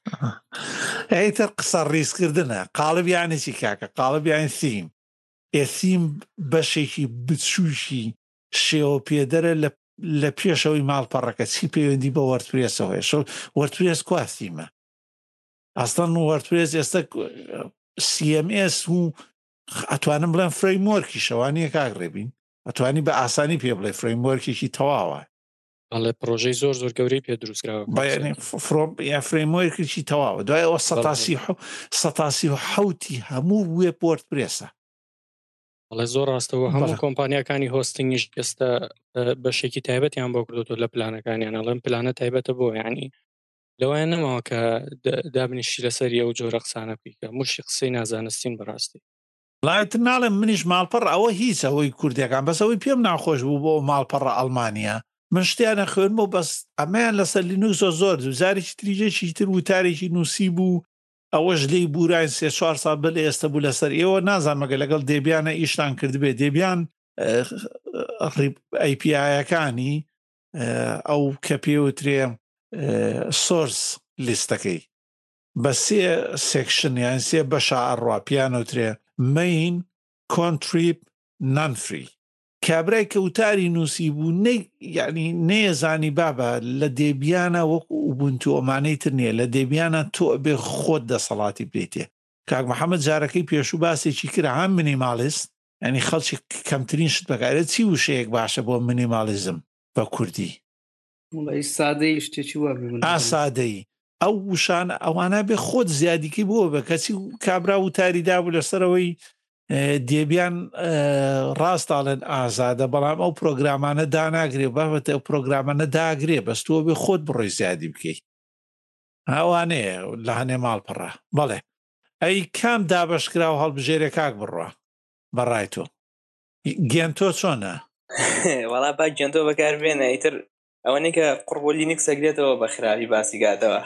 ئەیتر قسە ڕیسکردنە قاڵب یانێکی کاکە قاڵب یان سیم ئێسیم بەشێکی بچووشی شێوە پێدەرە لە پێشەوەی ماڵپەڕەکە چی پەیوەندی بە وەردپرێسەوەی شۆ وەردپرێس کواسیمە ئەستان وەردپرێس ئێستا سی ئەم ئێس و ئەتوانم بڵێن فرەیمۆرکی شەوانیە کاک ڕێبین ئەتوانی بە ئاسانی پێ بڵێ فرەیمۆرکێکی تەواوە بەڵێ پرۆژەی زۆر زۆر گەورەی پێ دروستکراوە یا فرەیمۆرکێکی تەواوە دوای ئەوە سەتاسی و حەوتی هەموو وێب وەردپرێسە بەڵێ زۆر ڕاستەوە هەموو کۆمپانیەکانی هۆستنگیش ئێستا بەشێکی تایبەتیان بۆ کردوتۆ لە پلانەکانیان ئەڵێم پلانە تایبەتە بۆ یعنی لەوایە نەماوە کە دابنیشی لەسەری ئەو جۆرە قسانە بکە موشی قسەی نازانستین بەڕاستی لایتر ناڵێم منیش ماڵپەڕ ئەوە هیچ ئەوەی کوردیەکان بەس ئەوەی پێم ناخۆش بوو بۆ ماڵپەڕە ئەڵمانیا من شتیانە خوێنمەوە بەس ئەمەیان لەسەر لینوکس زۆر زۆر زارێکی تریجێکی تر وتارێکی نووسی بوو ئەوەش لی بورای سێ چوار ساڵ بل ئێستا بوو لەسەر ئێوە نازانمەگە لەگەڵ دێبیانە ئیشتان کردبێ دێبیان ئەی پی آیەکانی ئەو کە پێوترێ سۆرس لیستەکەی بە سێ سێکشن یان سێ بەشە ئەڕوا پیانوترێ مین کۆنتریب نانفری کابرای کەوتاری نووسی بوو یعنی نێزانی بابە لە دێبیانە وەکو ئوبونتو ئەمانەی تر نییە لە دێبیانە تۆ بێ خۆت دەسەڵاتی بێتێ کاک محەممەد جارەکەی پێشوو باسێکی کرا هەم منیمالیست ینی خەڵکی کەمترین شت بەکارێت چی وشەیەک باشە بۆ منیمالیزم بە کوردی سادەی شتێکی وە ئاسادەی ئەو وشان ئەوانە بێ خۆت زیادیکی بۆ بە کەچی کابرا و تاریدا بوو لەسەرەوەی دێبیان ڕاستاڵێن ئازادە بەڵام ئەو پرۆگرامانە داناگرێ بابەتە ئەو پرۆگرامانە داگرێ بەستووە بێ خۆت بڕۆی زیادی بکەیت ئەوانەیە لە هەنێ ماڵپەڕە بەڵێ ئەی کام دابشکرا و هەڵبژێرە کاک بڕوە بەڕای تۆ گێنتۆ چۆنە؟ وەڵا با گێنتۆ بەکاربێنە ئیتر ئەوەنەی کە قڕبۆلینیک سەگرێتەوە بە خراپی باسی گاتەوە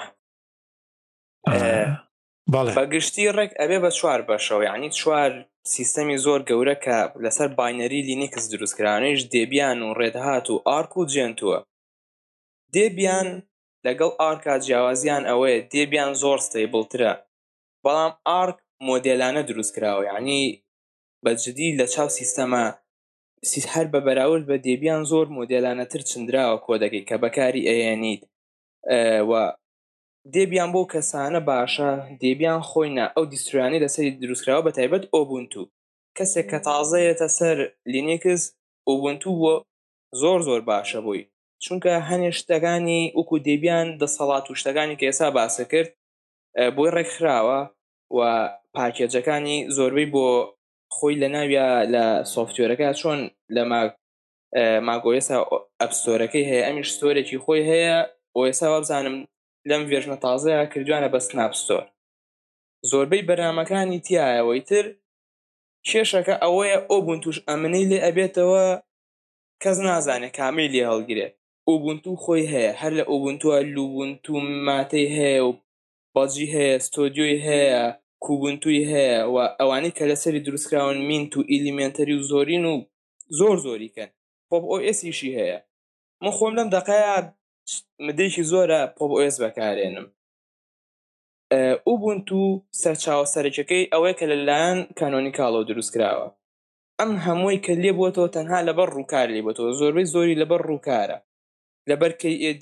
بەگشتی ڕێک ئەبێ بە چوار بەشەوە یعنی چوار سیستەمی زۆر گەورە کە لەسەر باینەری لینیکس دروستکرانیش دێبیان و ڕێدهات و ئارک و جێنتووە دێبیان لەگەڵ ئارکا جیاوازیان ئەوەیە دێبیان زۆر ستەیبڵترە بەڵام ئارک مۆدێلانە دروستکراوە یعنی بەجددی لە چاو سیستەمە هەر بە بەراورد بە دێبیان زۆر مۆدێلانەتر چندراوە کۆدەکەی کە بەکاری ئەیەنیت و دێبیان بۆ کەسانە باشە دێبیان خۆینە ئەو دیسترویانی لەسەری دروستکراوە بە تایبەت ئۆبونتو کەسێک کە تازەیەتە سەر لینیکس ئۆبونتو بۆ زۆر زۆر باشە بووی چونکە هەنێ شتەکانی وەکو دێبیان دەسەڵات و شتەکانی کە ئێستا باسە کرد بۆی ڕێکخراوە و پاکێجەکانی زۆربەی بۆ خۆی لە ناویە لە سۆفتوێرەکە چۆن لە ماگۆیسا ئەپستۆرەکەی هەیە ئەمیش ستۆرێکی خۆی هەیە بۆ ئێستا وابزانم لەم ڤێژنە تازەیە کردوانە بە سناپستۆر زۆربەی بەرنامەکانی تایەوەی تر کێشەکە ئەوەیە ئۆبونتوش ئەمنەی لێ ئەبێتەوە کەس نازانێت کامی لێ هەڵگرێت ئۆبونتو خۆی هەیە هەر لە ئۆبونتووە لوبونتو ماتەی هەیە و باجی هەیە ستۆدیۆی هەیە کوبنتوی هەیە و ئەوانەی کە لەسەری دروستکراون مینت و ئیلیمنتەری و زۆرین و زۆر زۆریکەن پۆپ ئۆ ئێسیشی هەیە من خۆم لەم دەقەیە مدەیەکی زۆرە پۆپ ئۆ ئێس بەکارێنم ئوبونتو سەرچاوە سەرەکیەکەی ئەوەیە کە لەلایەن کانۆنیکاڵەوە دروستکراوە ئەم هەمووی کە لێ بووەتەوە تەنها لەبەر ڕووکار لێ بووەتەوە زۆربەی زۆری لەبەر ڕووکارە لەبەر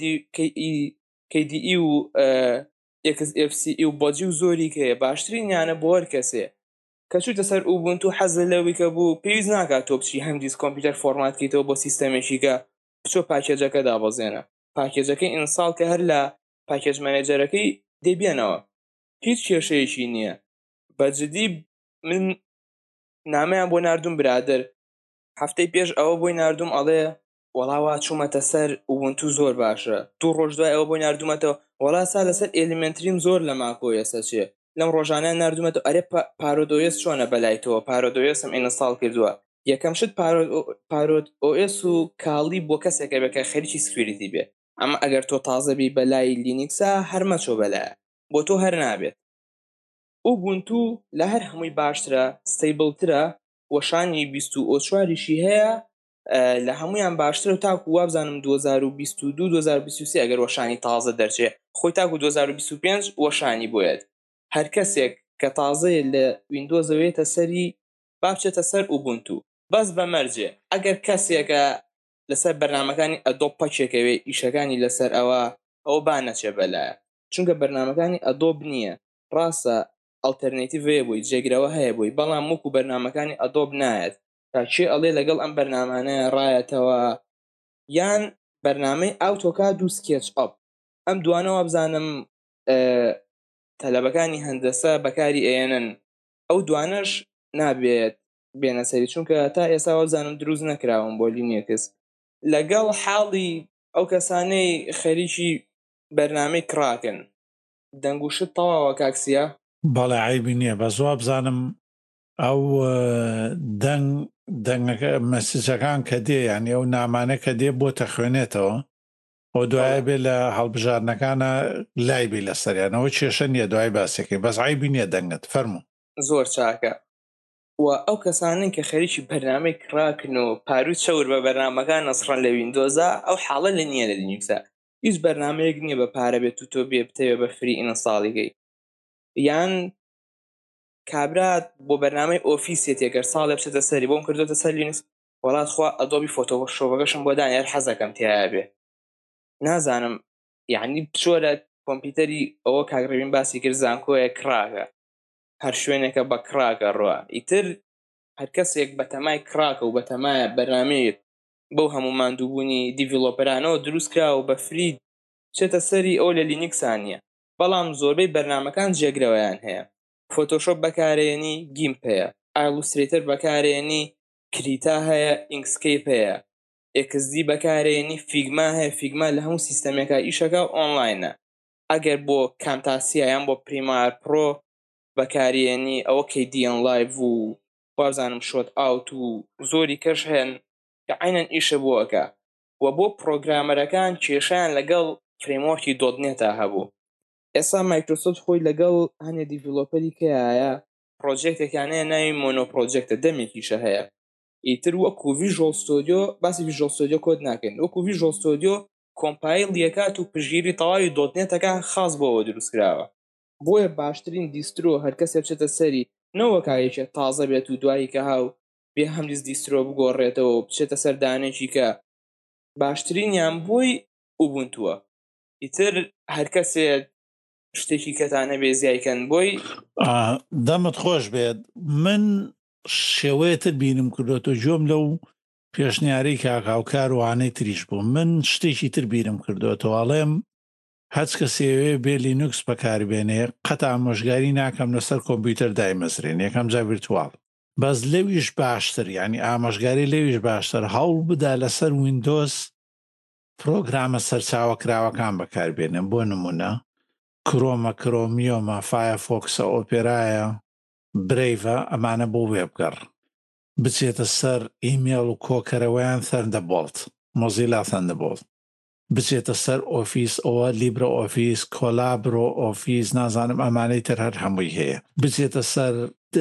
کەی دی ئی و ئێکس ئێف سی ئی و بۆجی و زۆری کەیە باشترینیانە بۆ هەر کەسێ کە چووتە سەر ئوبونتو حەزە لەوەی کە بوو پێویست ناکات تۆ بچی هەم دیس کۆمپیوتەر فۆرماتکەیتەوە بۆ سیستەمێکی کە بچۆ پاکێجەکە دابەزێنە پاکێجەکەی ئینستاڵ کە هەر لە پاکێج مەنێجەرەکەی دێبێنەوە هیچ کێشەیەکی نییە بەجددی من نامەیان بۆ ناردوم برادر هەفتەی پێش ئەوە بۆی ناردوم ئەڵێ وەڵاوە چوومەتە سەر ئوبونتو زۆر باشە دوو ڕۆژ دوای ئەوە بۆی ناردومەتەوە وەڵا سا لەسەر ئێلیمنتریم زۆر لە ماکۆیەسە چێ لەم ڕۆژانە ناردومەتەوە ئەرێ پارۆدۆیس چۆنە بەلایتەوە پارۆدۆیسم ئینستاڵ کردووە یەکەم شت پارۆد ئۆ ئێس و کاڵی بۆ کەسێکە بەکە خەریکی سکیوریتی بێ ئەمە ئەگەر تۆ تازەبی بەلای لینیکسا هەرمەچۆ بەلایە بۆ تۆ هەر نابێت ئوبونتو لە هەر هەمووی باشترە ستەیبڵترە وەشانی بیست و چواریشی هەیە لە هەمویان باشترە و تاکو وابزانم دوو هەزار و بیست و دوو دوو هەزار و بیست و سێ ئەگەر وەشانی تازە دەرچێ خۆی تاکو دوو هەزار و بیست و پێنج وەشانی بۆیێت هەر کەسێک کە تازەیە لە ویندۆزەوەیەتە سەری با بچێتە سەر ئوبونتو بەس بەمەرجێ ئەگەر کەسێکە لەسەر بەرنامەکانی ئەدۆب پەچێکەوێ ئیشەکانی لەسەر ئەوە ئەوە با نەچێ بەلایە چونکە بەرنامەکانی ئەدۆب نییە ڕاستە ئەڵتەرنێتیڤ هەیە بووی جێگرەوە هەیە بووی بەڵام وەکو بەرنامەکانی ئەدۆب نایەت کاچێ ئەڵێ لەگەڵ ئەم بەرنامانەیە ڕایەتەوە یان بەرنامەی ئاوتۆکاد و سکێچ ئەپ ئەم دوانەوە بزانم تەلەبەکانی هەندەسە بەکاری ئێنن ئەو دوانەش نابێت بێنە سەری چونکە تا ئێستا وەبزانم دروست نەکراون بۆ لینیکس لەگەڵ حاڵی ئەو کەسانەی خەریکی بەرنامەی کراکن دەنگوشت تەواوە کاکسیە بەڵێ عیبی نییە بە زۆر بزانم ئەو دەنگ دەنگەکە مەسیجەکان کە دێ یعنی ئەو نامانە کە دێ بۆ تەخوێنێتەوە ئەو دوایە بێ لە هەڵبژارنەکانە لای بێ لە سەریانەوە کێشە نییە دوای باسێکی بەس عیبی نییە دەنگت فەرموو زۆر چاکە و ئەو کەسانن کە خەریکی بەرنامەی کڕاکن و پاروت شەور بە بەرنمەکان نەسڕەن لە ویندۆزە ئەو حاڵە لە نییە لە لینوکسە هیچ بەرنمەیەک نییە بە پارە بێت و تۆ بێ بتەوێ بە فری ئینستاڵیگەی یان کابرات بۆ بەرنامەی ئۆفیسێت ئەگەر ساڵێ بچێتە سەری بۆم کردوتە سەر لینوکس وڵات خوا ئەدۆبی فۆتۆشۆپەکەشم بۆ دانیار حەزەکەم تیا بێ نازانم یعنی بچۆ لە کۆمپیوتەری ئەوە کاگڕێبین باسی کرد زانکۆیە کراکە هەر شوێنێکە بە کراکە ڕوە ئیتر هەر کەسێک بە تەمای کراکە و بە تەمایە بەرنامەیەک بەو هەموو ماندووبوونی دیڤلۆپەرانەوە دروست کرا و بە فرید چێتە سەری ئەو لە لینکسانیە بەڵام زۆربەی بەرنامەکان جێگرەوەیان هەیە فۆتۆشۆپ بەکارێنی گیمپ هەیە ئایلوسترێتر بەکارێنی کریتا هەیە ئینکسکیپ هەیە ئێکس دی بەکارێنی فیگما هەیە فیگما لە هەموو سیستەمێکە ئیشەکە ئۆنلاینە ئەگەر بۆ کامتاسیە یان بۆ پریمار پرۆ بەکارێنی ئەوە کەیدیەن لایڤ و وازانم شۆت ئاوت و زۆری کەش هەن کە عینەن ئیشە بۆەکە و بۆ پرۆگرامەرەکان کێشیان لەگەڵ فرێموەرکی دۆتنێتە هەبوو ئێستا مایکرۆسۆفت خۆی لەگەڵ هەنێ دیڤلۆپەری کەیە پرۆجێکتێکیانەیە ناوی مۆنۆ پرۆجێکتە دەمێکیشە هەیە ئیتر وەکو ڤیژوەڵ ستۆدیۆ باسی ڤیژوەڵ ستۆدیۆ کۆد ناکەین وەکو ڤیژوەڵ ستۆدیۆ کۆمپایل یەکات و پژگیری تەواوی دۆتنێتەکە خاص بۆەوە دروستکراوە بۆیە باشترین دیسترۆ هەر کەسێ بچێتە سەری نەوەکایەکێ تازە بێت و دوایی کە هاو بێ هەملیز دیسترۆ بگۆڕێتەوە و بچێتە سەر دانێکی کە باشترینیان بۆی ئوبونتووە ئیتر هەر کەسێ شتێکی کەتانە بێ زیایکەن بۆی دەمت خۆش بێت من شێوەیەتر بینم کردوتە جۆم لەو پێشنیاری کاکاوکار وانەی تریش بوو من شتێکی تر بیرم کردوتەواڵێم هەچ کەسێوێ بێ لینوکس بەکاربێنێ قەت ئامۆژگاری ناکەم لەسەر کۆمپیوتەر دایمەزرێن یەکەم جا ڤیرتوال بەس لەویش باشتر ینی ئامۆژگاری لەویش باشتر هەوڵ بدا لەسەر ویندۆز پرۆگرامە سەرچاوە کراوەکان بەکاربێنن بۆ نمونە کرۆمە کرۆمیۆمە فایەرفۆکسە ئۆپێرایە برەیڤە ئەمانە بۆ وێبگەڕ بچێتە سەر ئیمێڵ و کۆکەرەوەیان تەندەبۆڵت مۆزیلا تەندەبۆڵت بچێتە سەر ئۆفیس ئەوە لیبرە ئۆفیس کۆلابرۆ ئۆفیس نازانم ئەمانەی تر هەر هەمووی هەیە بچێتە سەر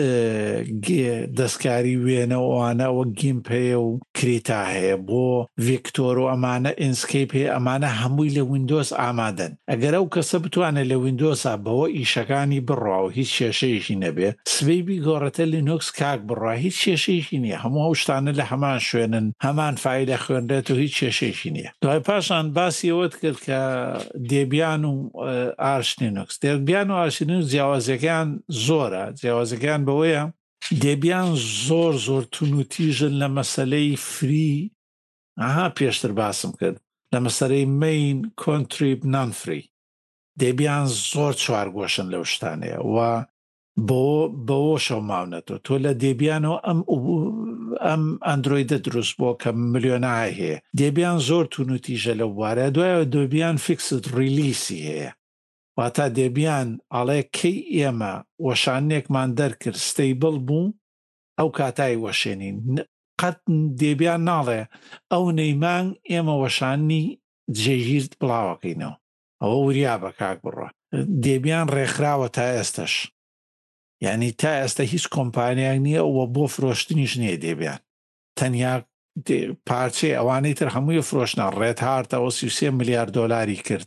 دەستکاری وێنەوەوانەوە گیمپ هەیە و کریتا هەیە بۆ ڤیکتۆر و ئەمانە ئینسکیپ هەیە ئەمانە هەمووی لە ویندۆز ئامادەن ئەگەر ئەو کەسە بتوانێت لە ویندۆسا بەوە ئیشەکانی بڕوا و هیچ کێشەیەکی نەبێ سبەیبی گۆڕەتە لینوکس کاک بڕوا هیچ کێشەیەکی نییە هەموو ئەو شتانە لە هەمان شوێنن هەمان فایلە خوێندرێت و هیچ کێشەیەکی نییە دوای پاشان باسی ئەوەت کرد کە دێبیان و ئارش لینوکس دێبیان و ئارش لینوکس جیاوازەکان زۆرە جیاوازەکان بەوەیە دێبیان زۆر زۆر تونوتیژن لە مەسەلەی فری ئاها پێشتر باسم کرد لە مەسەلەی مین کۆنتریب نان فری دێبیان زۆر چوارگۆشن لەو شتانەیە و بۆ بەوە شەو ماونەتەوە تۆ لە دێبیانەوە ئەم ئەم ئەندرۆیدە دروست بۆ کە ملیۆنای هەیە دێبیان زۆر تونوتیژە لەو بوارە دوایەوە دێبیان فیکسد ریلیسی هەیە واتە دێبیان ئاڵێ کەی ئێمە وەشانێکمان دەرکرد ستەیبڵ بوو ئەو کاتای وەشێنین قەت دێبیان ناڵێ ئەو نەیمانگ ئێمە وەشانی جێگیرت بڵاوەکەینەوە ئەوە وریا بە کاک بڕە دێبیان ڕێکخراوە تا ئێستش یعنی تا ئێستا هیچ کۆمپانیاک نییە ئەوە بۆ فرۆشتنیش نییە دێبیان تەنیا پارچەی ئەوانەی تر هەمووی فرۆشنە ڕێت هارتەوە سی و سێ ملیارد دۆلاری کرد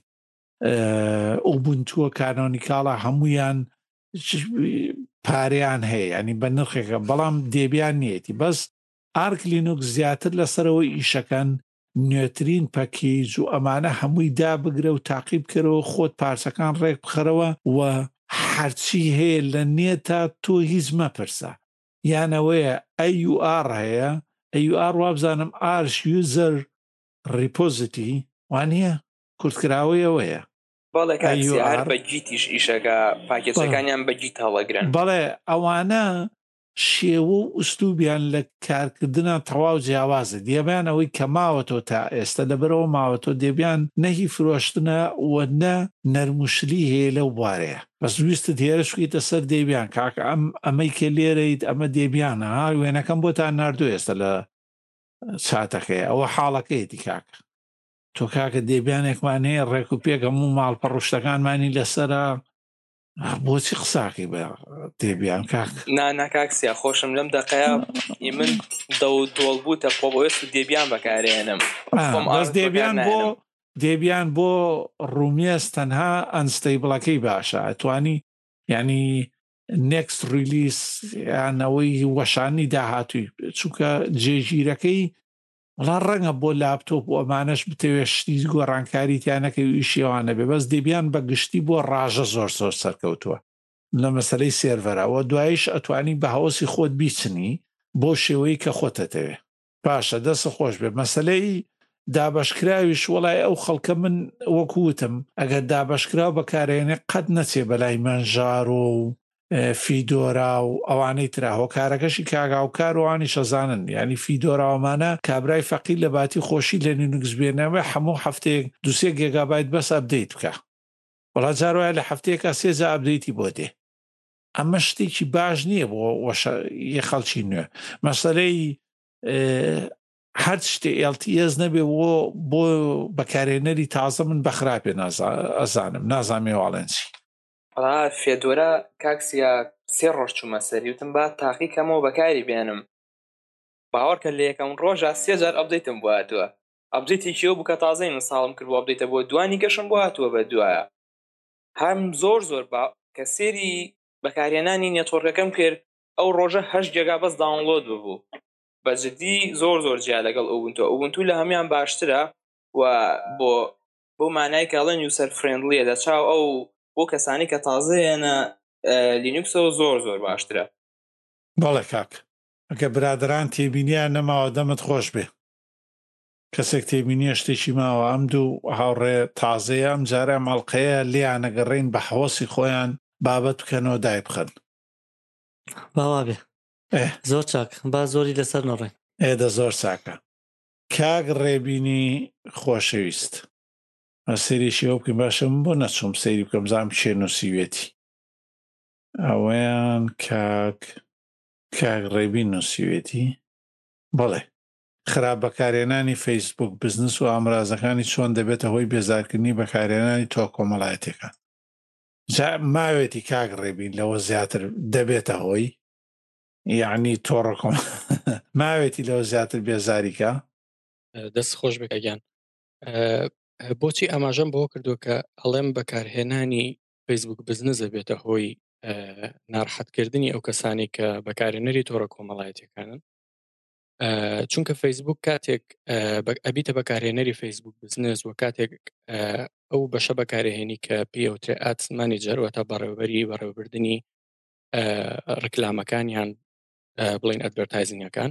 ئوبونتووە کانۆنیکاڵە هەمویان پاریان هەیە ینی بە نرخێکە بەڵام دێبیان نیەتی بەس ئارک لینوکس زیاتر لەسەرەوە ئیشەکان نوێترین پەکیج و ئەمانە هەمووی دابگرە و تاقیب کردەوە خۆت پارچەکان ڕێک بخەرەوە و هەرچی هەیە لە نێتە تۆ هیچ مەپرسە یانەوەیە ئەی یو ئار هەیە ئەی یو ئار وابزانم ئارش یوزەر ریپۆزیتی وانە کورتکراوی ئەوەیە بەڵێ هەر بە جیتیش ئیشەکە پاکێچەکانیان بە جیت هەڵەگرن بەڵێ ئەوانە شێوە و ئوستوبیان لە کارکردنە تەواو جیاوازە دێبیان ئەوەی کە ماوەتەوە تا ئێستا لەبەرەوە ماوەتەوە دێبیان نەهی فرۆشتنە وە نە نەرموشلی هەیە لەو بوارەیە بەس ویستت هێرشکیتە سەر دێبیان کاکە ئەم ئەمەی کە لێرەیت ئەمە دێبیانە ها وێنەکەم بۆتان ناردوو ئێستا لە چاتەکەی ئەوە حاڵەکەیەتی کاکە تۆ کاکە دێبیانێکمان هەیە ڕێک و پێک هەموو ماڵپەڕوشتەکانمانی لەسرە بۆچی قساقی بە دێبیان کاک نا کاکسیا خۆشم لەم دەقەیە من دە و دۆڵ بووتە خۆ بەوەست دێبیان بەکارێنم بەس دێبیان بۆ دێبیان بۆ ڕومیێز تەنها ئەنستەیبڵەکەی باشە ئەتوانی ینی نێکست ریلیس یانەوەی وەشانی داهاتووی چونکە جێژیرەکەی وڵا ڕەنگە بۆ لاپتۆپ و ئەمانەش بتەوێت شتی گۆڕانکاری تیانەکەی و ئیشیەوانە بێ بەس دێبیان بە گشتی بۆ ڕاژە زۆر زۆر سەرکەوتووە لە مەسەلەی سێرڤەرەوە دوایش ئەتوانی بە هەوەسی خۆت بیچنی بۆ شێوەی کە خۆتەتەوێ پاشە دەست خۆش بێ مەسەلەی دابەشکراویش وڵای ئەو خەڵکە من وەکووتم ئەگەر دابەشکراو بەکارێنێ قەت نەچێ بەلای مەنژار و فیدۆرا و ئەوانەی ترا هۆکارەکەشی کاگااوکار وانی شەزانن ینی فیدۆراوەمانە کابرای فەقی لە باتی خۆشی لە لینوکس بێنەوە هەموو هەفتەیەک دوسێ گێگابایت بەس ئەبدەیت بکە وڵا جاروایە لە هەفتەیەکە سێجا ئەبدەیتی بۆ دێ ئەمە شتێکی باش نییە بۆ یە خەڵکی نوێ مەسەلەی هەر شتێ ئێل تی ئێس نەبێ بۆ بەکارێنەری تازە من بەخراپێ ئەزانم نازانێ واڵێنسی فێدۆرە کاکسیا سێ ڕۆژ چوومە سەری وتم با تاقی کەمەوە بەکاری بێنم باوەڕکە لە یەکەم ڕۆژە سێ جار ئەبدەیتم بۆ هاتووە ئەبدەیتی کێوە بوو کە تازەی من ساڵم کرد بۆ ئەبدەیتە بۆ دوانی گەشم بۆ هاتووە بە دوایە هەم زۆر زۆر با کە سێری بەکارێنانی نێتۆڕەکەم کرد ئەو ڕۆژە هەشت جێگا بەس داونلۆد ببوو بەجددی زۆر زۆر جیا لەگەڵ ئەوبنتۆ ئەوبنتو لە هەمیان باشترە و بۆ بۆ مانای کاڵەن یوسەر فرێندلیە دەچاو ئەو بۆ کەسانی کە تازەیەنە لینوکسەوە زۆر زۆر باشترە بەڵێ کاک ئەگە برادران تێبینیان نەماوە دەمت خۆش بێ کەسێک تێبینیە شتێکی ماوە ئەم دوو هاوڕێ تازەیە ئەم جارە مەڵقەیە لیانەگەڕین بە حەوەسی خۆیان بابەت بکەنەوە دای بخەن باوا بێ زۆر چاک با زۆری لەسەر نەڕێ ئێدە زۆر چاکە کاک ڕێبینی خۆشەویست سێریشی ئەو بکەین باشە من بۆ نەچوم سەیری بکەم زانم کێ نووسیوێتی ئەوەیان کاک کاک ڕێبین نووسیوێتی بەڵێ خراپ بەکارێنانی فەیسبوک بزنس و ئامرازەکانی چۆن دەبێتە هۆی بێزارکردنی بەکارێنانی تۆ کۆمەڵایەتەکان ماوێتی کاک ڕێبین لەوە زیاتر دەبێتە هۆی یعنی تۆڕەکۆم ماوێتی لەوە زیاتر بێزاریکە دەست خۆش بکەگیان بۆچی ئاماژەم بۆ کردو کە ئەڵێم بەکارهێنانی فەیسبوک بزنس دەبێتە هۆی ناڕحەتکردنی ئەو کەسانی کە بەکارهێنەری تۆڕە کۆمەڵایەتەکانن چونکە فەیسبوک کاتێک ئەبیتە بەکارهێنەری فەیسبوک بزنس و کاتێک ئەو بەشە بەکارهێنی کە پێوترێ ئات مانیجەر واتە بەڕێوەبەری بەڕێوەبردننی ڕکلامەکانیان بڵین ئەدڤەرتایزینگەکان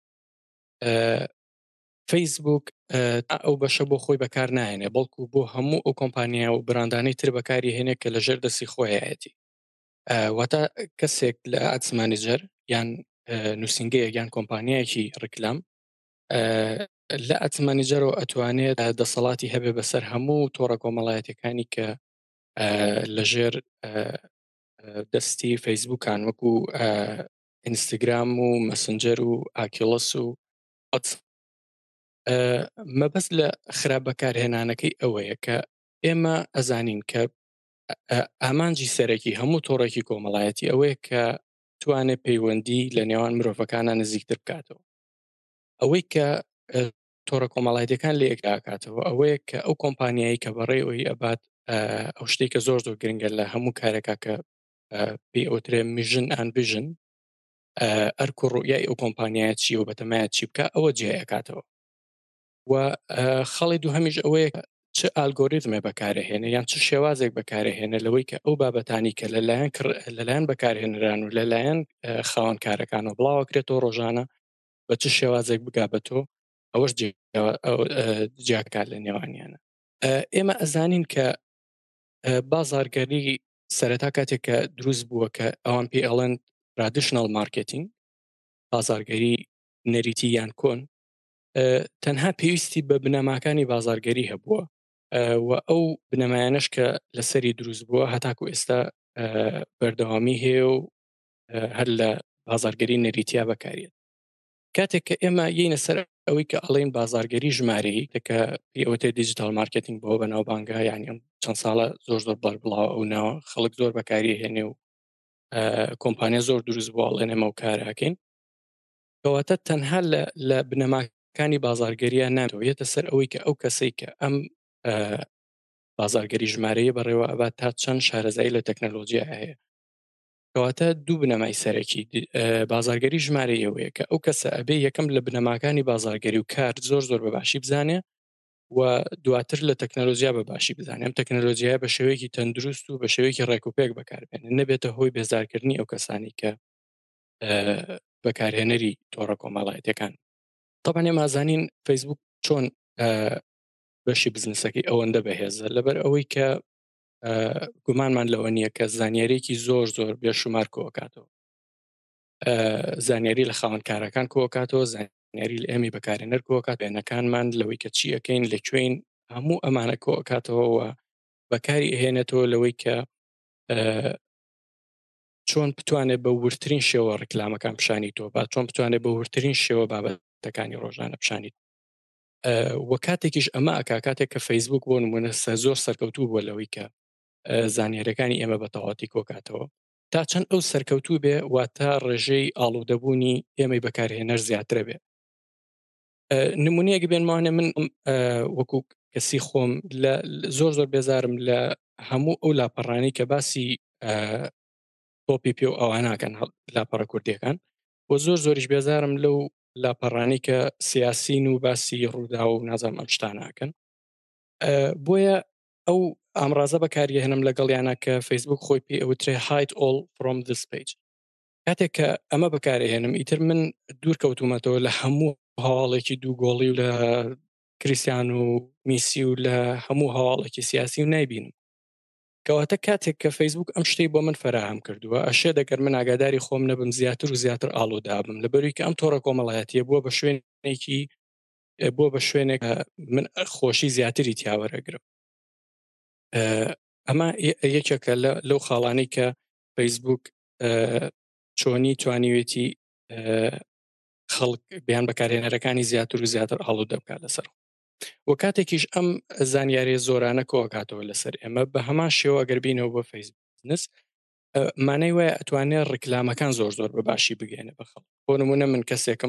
فەیسبوک ئەو بەشە بۆ خۆی بەکار ناهێنێ بەڵکو بۆ هەموو ئەو کۆمپانیا و براندانەی تر بەکاری هێنێ کە لەژێر دەستی خۆیەتی واتە کەسێک لە ئاتس مانیجەر یان نووسنگەیە یان کۆمپانیایەکی ڕکلام لە ئاتس مانیجەرەوە ئەتوانێت دەسەڵاتی هەبێ بەسەر هەموو تۆڕە کۆمەڵایەتەکانی کە لەژێر دەستی فەیسبوکان وەکو ئینستاگرام و مەسنجەر و ئاکیڵەس و مەبەست لە خراپ بەکارهێنانەکەی ئەوەیە کە ئێمە ئەزانین کە ئامانجی سەرەکی هەموو تۆڕێکی کۆمەڵایەتی ئەوەیە کە توانێت پەیوەندی لە نێوان مرۆڤەکانە نزیکتر بکاتەوە ئەوەی کە تۆڕە کۆمەڵایەتەکان لە یەکداکاتەوە ئەوەیە کە ئەو کۆمپانیایی کە بەڕێوەی ئەبات ئەو شتێکە زۆر زۆر گرنگە لە هەموو کارێکا کە پێی ئەوترێ میژن ئەن ڤیژن ئەرکو ڕوئیای ئەو کۆمپانیایە چی و بەتەمایە چی بکە ئەوە جێیەکاتەوە و خەڵی دووهەمیش ئەوەیە چ ئالگۆریتمێ بەکارهێنێ یان چ شێوازێک بەکارهێنێ لەوەی کە ئەو بابەتانی کە لەلایەن لەلایەن بەکارهێنران و لەلایەن خاوەن کارەکانەوە بڵاوەکرێتەوە ڕۆژانە بە چ شێوازێک بگابێتەوە ئەوەش جیاکار لە نێوانیانە ئێمە ئەزانین کە بازارگەری سەرەتا کاتێک کە دروست بووە کە ئەوان پێی ئەڵێن ترادیشنەڵ مارکێتینگ بازارگەری نەریتی یان کۆن تەنها پێویستی بە بنەماکانی بازارگەری هەبووە و ئەو بنەمایانش کە لەسەری دروست بووە هەتاکو ئێستا بەردەوامی هەیە و هەر لە بازارگەری نەریتیا بەکارێت کاتێک کە ئێمە یینە سەر ئەوەی کە ئەڵێن بازارگەری ژمارەیی کە ئەوەتە دیجیتال مارکتینگ بۆ بەناو بانگە یعنی چەند ساڵە زۆر زۆر بەر بڵاو ئەو ناوە خەڵک زۆر بەکاری هێنێ و کۆمپانیا زۆر دروست بۆ ئەڵێنێمە و کاراکەین کەواتە تەنها لە بنەماکانی بازارگەریە ناتەوێتە سەر ئەوەی کە ئەو کەسەی کە ئەم بازارگەری ژمارەیە بەڕێوە ئەبات تا چەند شارەزایی لە تەکنەلۆژیا هەیە کەواتە دوو بنەمای سەرەکی بازارگەری ژمارەیەوەیە کە ئەو کەسە ئەبێ یەکەم لە بنەماکانی بازارگەری و کار زۆر زۆر بەباشی بزانێ و دواتر لە تەکنەلۆژیا بەباشی بزانێ ئەم تەکنەلۆژیای بە شێوەیەکی تەندروست و بە شێوەیەکی ڕێکوپێک بەکاربێنێ نەبێتە هۆی بێزارکردنی ئەو کەسانی کە بەکارهێنەری تۆڕە کۆمەڵایەتیەکان طبعاً ئێمازانین فەیسبوک چۆن بەشی بزنسەکەی ئەوەندە بەهێزە لەبەر ئەوەی کە گومانمان لەوە نییە کە زانیاریەکی زۆر زۆر بێشومار کۆکاتەوە زانیاری لە خاوەنکارەکان کۆکاتەوە زانیاری لە ئێمەی بەکارهێنەر کۆکات بێنەکانمان لەوەی کە چی ئەەکەین لەکوێین هەموو ئەمانە کۆکاتەوە و بەکاری ئەهێنێتەوە لەوەی کە چۆن بتوانێت بە ورترین شێوە ڕکلامەکان پیشانی تۆ با چۆن بتوانێت بە ورترین شێوە بابەتەکانی ڕۆژانە پیشانیت وە کاتێکیش ئەمە ئەکا کاتێک کە فەیسبوک بۆ نمونە زۆر سەرکەوتوو بووە لەوەی کە زانیاریەکانی ئێمە بە تەواوەتی کۆکاتەوە تا چەند ئەو سەرکەوتوو بێ واتە ڕێژەی ئاڵوودەبوونی ئێمەی بەکارهێنەر زیاترە بێ نمونەیەک بێنمانێ من وەکو کەسی خۆم زۆر زۆر بێزارم لە هەموو ئەو لاپەڕانی کە باسی تۆپی پێ و ئەواناکەن لاپەڕە کوردیەکان بۆ زۆر زۆریش بێزارم لەو لاپەڕانی کە سیاسین و باسی ڕوودا و نازانم ئەم شتاناکەن بۆیە ئەو ئامڕازە بەکاریە هێنم لەگەڵیانە کە فەیسبوک خۆی پێ ئەوترێ hide all from this page کاتێک کە ئەمە بەکارهێنم ئیتر من دوور کەوتومەتەوە لە هەموو هەواڵێکی دوو گۆڵی و لە کریستیان و میسی و لە هەموو هەواڵێکی سیاسی و نایبینم کەواتە کاتێک کە فەیسبوک ئەم شتەی بۆ من فراهم کردووە ئەشێ دەگەر من ئاگاداری خۆم نەبم زیاتر و زیاتر ئاڵوودابم لەبەروی کە ئەم تۆڕە کۆمەڵایەتیە بووە بە شوێنێکی بۆ بە شوێنێک من خۆشی زیاتری تیاوەرەگرم ئەمە یەکێکە لەو خاڵانەی کە فەیسبوک چۆنی توانیوێتی خەڵک بیان بەکارهێنەرەکانی زیاتر و زیاتر ئاڵوودە بکات لەسەر وە کاتێکیش ئەم زانیاری زۆرانە کۆکاتەوە لەسەر ئێمە بە هەمان شێوە ئەگەر بینەوە بۆ فەیسبوک بزنس مانەی وایە ئەتوانێت ڕکلامەکان زۆر زۆر بەباشی بگەێنە بە خەڵک بۆ نمونە من کەسێکم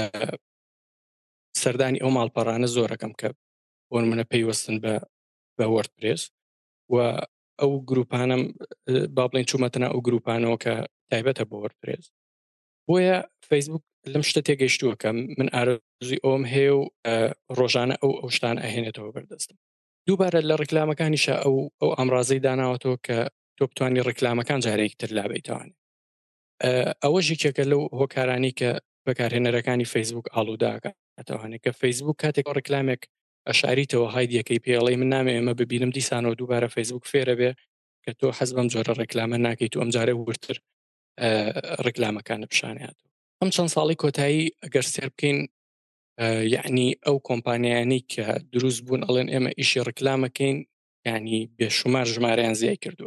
سەردانی ئەو ماڵپەڕانە زۆرەکەم کە بۆ نمونە پەیوەستن بە بە وەردپرێس و ئەو گروپانم با بڵێن چوومەتەنە ئەو گروپانەوە کە تایبەتە بۆ وەردپرێس بۆیە فەیسبوک لەم شتە تێگەیشتووە کە من ئارزوی ئەوم هەیە و ڕۆژانە ئەو ئەو شتان ئەهێنێتەوە بەردەستم دووبارە لە ڕکلامەکانیشە ئەو ئەو ئامڕازەی داناوەتەوە کە تۆ بتوانانی ڕکلامەکان جارێکی تر لابەیتوانێت ئەوە ژێکێکە لەو هۆکارانی کە بەکارهێنەرەکانی فەیسبوک ئاڵووداکاتەوانێت کە فەیسبوک کاتێک ڕکلامێک ئەشاریتەوە هایدیەکەی پێڵێ من نامێ ئەمە ببینم دیسانەوە دووبارە فەیسبوک فێرە بێ کە تۆ حەز بەم جۆرە ڕکلامە ناکەیت و ئەم جارە ورتر ڕکلامەکانە پیشانیاتەوە ئەم چەند ساڵی کۆتایی ئەگەر سێر بکەین یعنی ئەو کۆمپانیانی کە دروست بوون ئەڵێن ئێمە ئیشی ڕکلامەکەین ینی بێشومار ژمارەیان زیای کردووە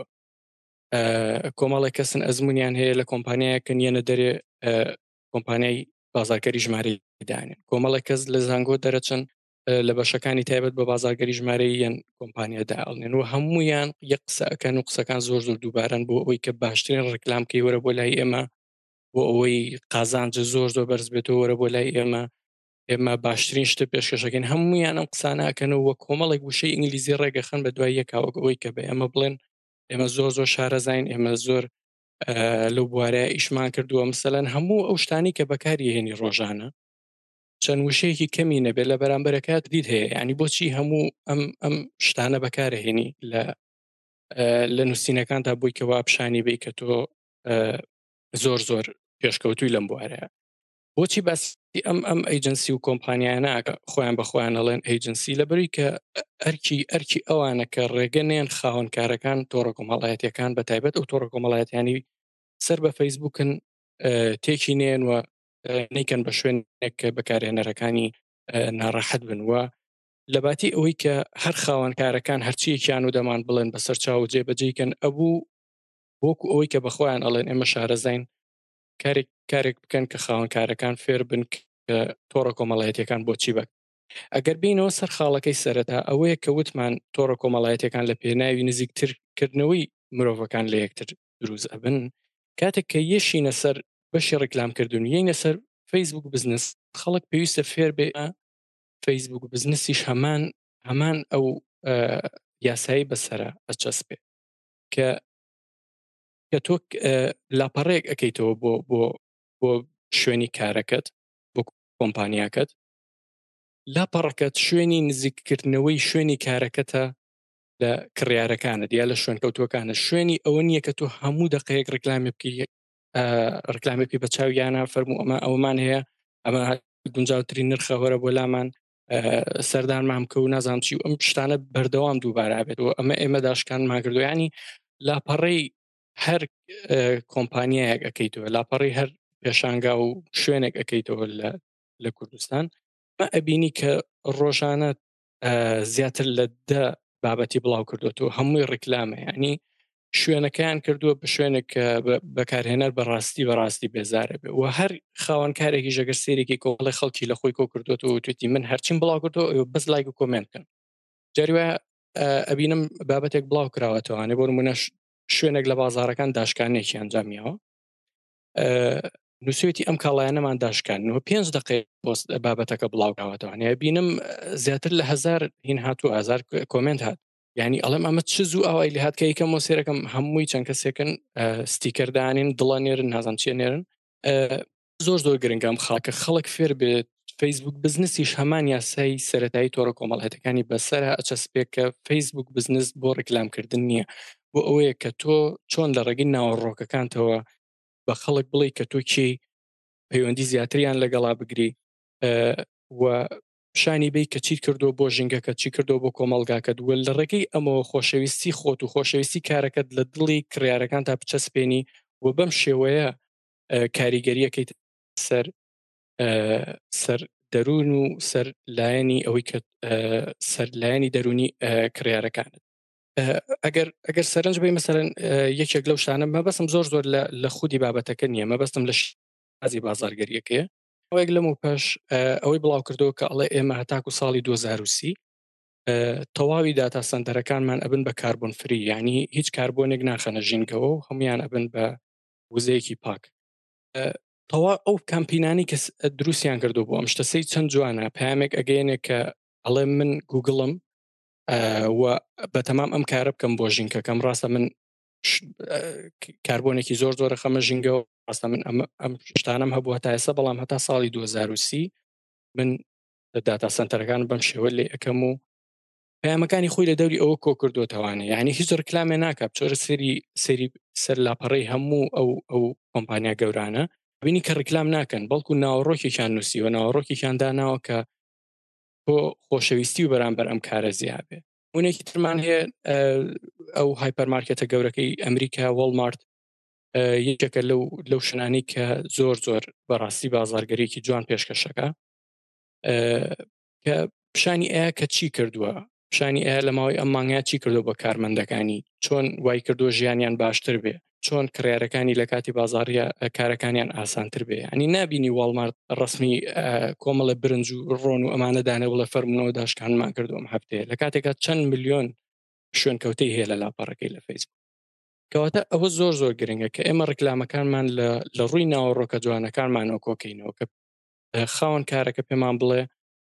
کۆمەڵی کەسن ئەزمونیان هەیە لە کۆمپانیایەکە نیەنە دەرێ کۆمپانیای بازارگەری ژمارەی دانێن کۆمەڵی کەس لە زانگۆ دەرەچن لە بەشەکانی تایبەت بە بازارگەری ژمارەی یەن کۆمپانیا داڵنێن و هەمویان یەک قسەکەن و قسەکان زۆر زۆر دووبارن بۆ ئەوەی کە باشترین ڕکلامکەی وەرە بۆ لای ئێمە بۆ ئەوەی قازانجە زۆر زۆر بەرز بێتەوە وەرە بۆ لای ئێمە ئێمە باشترین شتە پێشکەشەکەین هەمویان ئەم قسانەکەنەوە وە کۆمەڵێک وشەی ئینگلیزی ڕێگەخەن بە دوای یەکاوەک ئەوەی کە بە ئێمە بڵێن ئێمە زۆر زۆر شارەزاین ئێمە زۆر لەو بوارەیە ئیشمان کردووە مەسەلەن هەموو ئەو شتانی کە بەکاری هێنی ڕۆژانە چەند وشەیەکی کەمی نەبێت لە بەرامبەرەکەت دیت هەیە ینی بۆچی هەموو ئەم ئەم شتانە بەکارهێنی لە لە نووسینەکان تا بووی کەوا پیشانی بی کە تۆ زۆر زۆر پێشکەوتووی لەم بوارەیە بۆچی باسی ئەم ئەم ئەیجنسی و کۆمپانیانە خۆیان بەخۆیان ئەڵێن ئەیجنسی لەبەری کە ئەرکی ئەرکی ئەوانە کە ڕێگەنێن خاوەنکارەکان تۆڕە کۆمەڵایەتیەکان بە تایبەت ئەو تۆڕە کۆمەڵایەتیانی سەر بە فەیسبوکن تێکی نێن و نیکەن بە شوێنێک کە بەکارهێنەرەکانی ناڕەحەت بن وە لەباتی ئەوەی کە هەر خاوەنکارەکان هەرچیەکیان و دەمان بڵێن بەسەر چاو جێبەجێکن ئەبوو بۆکو ئەوەی کە بەخۆیان ئەڵێن ئێمە شارەزاین کارێک کارێک بکەن کە خاوەنکارەکان فێر بن کە تۆڕە کۆمەڵایەتیەکان بۆچی بک ئەگەر بینەوە سەر خاڵەکەی سەرەتا ئەوەیە کە وتمان تۆڕە کۆمەڵایەتەکان لە پێناوی نزیکترکردنەوەی مرۆڤەکان لە یەکتر دروست ئەبن کاتێک کە یەشینە سەر بەشی ڕێکلامکردن یەینە سەر فەیسبوک بزنس خەڵک پێویستە فێر بێ فەیسبوک بزنسیش هەمان هەمان ئەو یاسایی بەسەرە ئەچەسبێ کە کە تۆ لاپەڕێک ئەەکەیتەوە بۆ بۆ بۆ شوێنی کارەکەت بۆ کۆمپانیاکەت لاپەڕەکەت شوێنی نزیککردنەوەی شوێنی کارەکەتە لە کڕیارەکانت یا لە شوێن کەوتوەکانە شوێنی ئەوە نییە کە تۆ هەموو دقەیەک ڕکلامی بکە ڕکلامی پێ بە چاویانە فەرموو ئەمە ئەومان هەیە ئەمە گونجاوترین نرخەوەرە بۆ لامان سەردانمان بکە و نازانم چی و ئەم شتانە بەردەوام دووبارە بێتەوە ئەمە ئێمە داشکانمان کردو ینی لاپەڕەی هەر کۆمپانیایەک ئەەکەیتەوە لاپەڕی هەر پێشانگا و شوێنێک ئەەکەیتەوە لە کوردستان مە ئەبینی کە ڕۆژانە زیاتر لە دە بابەتی بڵاو کردوەوە هەمووی ڕکلامە ینی شوێنەکەیان کردووە بە شوێنێک بەکارهێنەر بەڕاستی بەڕاستی بێزارە بێ و هەر خاوەنکارێکی ژەگەر سێرێکی کۆڵی خەڵکی لە خۆی کۆ کردوەوە و توێتی من هەرچیم بڵاو کردەوە بەس لایک و کۆمنتکەن جاریوە ئەبینم بابەتێک بڵاو کراوەتەوەوانێ بۆ نمونە شوێنێک لە بازارەکان داشکانێکی ئەنجامیەوە نووسێتی ئەم کاڵایەنەمان داشکانەوە پێنج دقی پۆست بابەتەکە بڵاوکراوەتەوە بینم زیاتر لە هزار هین هاتوو هزار کۆمنت هات یعنی ئەڵم ئەمە چ زوو ئەوای لە هاتکە یکەم مۆسیرەکەم هەمووی چەند کەسێکن ستیکەردانین دڵە نێرن نازان چیە نێرن زۆر زۆر گرنگام خاکە خەڵک فێر بێت فەیسبوک بزنسیش هەمان یاسای سەرەتایی تۆڕە کۆمەڵایەتەکانی بەسەرە ئەچەسپێک کە فەیسبوک بزنس بۆ ڕکلامکردن نییە بۆ ئەوەیە کە تۆ چۆن لە ڕێگەی ناوەڕۆکەکانتەوە بە خەڵک بڵێ کە تۆ کێ پەیوەندی زیاتریان لەگەڵا بگری و شانی بی کە چیت کردو بۆ ژینگەکە چی کردو بۆ کۆمەلگاکەت وە لە ڕێگەی ئەمەوە خۆشەویستی خۆت و خۆشەویستی کارەکەت لە دڵی کڕیارەکان تا بچەسپێنی و بەم شێوەیە کاریگەریەکەیت سەر سەر دەروون و سەر لایەنی ئەوەی کە سەر لایەنی دەرونی کڕیارەکانت ئەگەر ئەگەر سەرنج بێ مەسەرەن یەکێک لەو شتانە مەبەستم زۆر زۆر لە خودی بابەتەکە نییە مەبەستم لە شازی بازارگەریەکەیە ئەوەیەک لەم و پاش ئەوەی بڵاو کردەوە کە ئەڵێ ئێمە هەتاکو ساڵی دوو هەزار و سی تەواوی داتا سەنتەرەکانمان ئەبن بە کاربۆن فری ینی هیچ کاربۆنێک ناخەنە ژینگەوە و هەمویان ئەبن بە وزەیەکی پاک تەوا ئەو کامپینانی کە دروستیان کردو بۆ ئەم شتەسەی چەند جوانە پامێک ئەگەیەنێک کە ئەڵێ من گوگڵم و بەتەمام ئەم کارە بکەم بۆ ژینکەکەم ڕاستە من کاربۆنێکی زۆر زۆرە خەمە ژینگەوە ڕاستە من ئەم شتانم هەبوو هەتا ئێستا بەڵام هەتا ساڵی دوو هەزار و سی من داتا سنتەرەکان بەم شێوە لێ ئەەکەم و پەیامەکانی خۆی لە دەوری ئەوە کۆ کردوتەوانە یعنی هیچ ڕکلامێ ناکات چۆرە سەری سەری سەر لاپەڕەی هەموو ئەو ئەو کۆمپانیا گەورانە بینی کە ڕکلام ناکەن بەڵکو ناوەڕۆکێکیان نووسیوە ناوەڕۆکێکیان داناوە کە بۆ خۆشەویستی و بەرامبەر ئەم کارە زیابێ اونێکی ترمان هەیە ئەو هایپەرمارکێتە گەورەکەی ئەمریکا وەڵمارت یەکێکە لەو لەو شنانی کە زۆر زۆر بەڕاستی بازارگەریەکی جوان پێشکەشەکە کە پیشانی ئەیە کە چی کردووە پیشانی ئەیە لە ماوەی ئەم مانگە چی کردو بە کارمەندەکانی چۆن وای کردو ژیانیان باشتر بێ چۆن کڕیارەکانی لە کاتی بازاڕیە کارەکانیان ئاسانتر بێ ئەنی نبینی وەڵمارت ڕسمی کۆمەڵە برنج و ڕۆن و ئەمانە دانە بڵە فەرمونەوە داشکانمان کردوم هەفتەیە لە کاتێکە چەند ملیۆن شوێن کەوتەی هەیە لە لاپەڕەکەی لە فەیسبوک کەواتە ئەوە زۆر زۆر گرنگە کە ئێمە ڕکلامەکانمان لە ڕووی ناوەڕۆکە جوانەکانمانەوە کۆکەینەوە کە خاوەن کارەکە پێمان بڵێ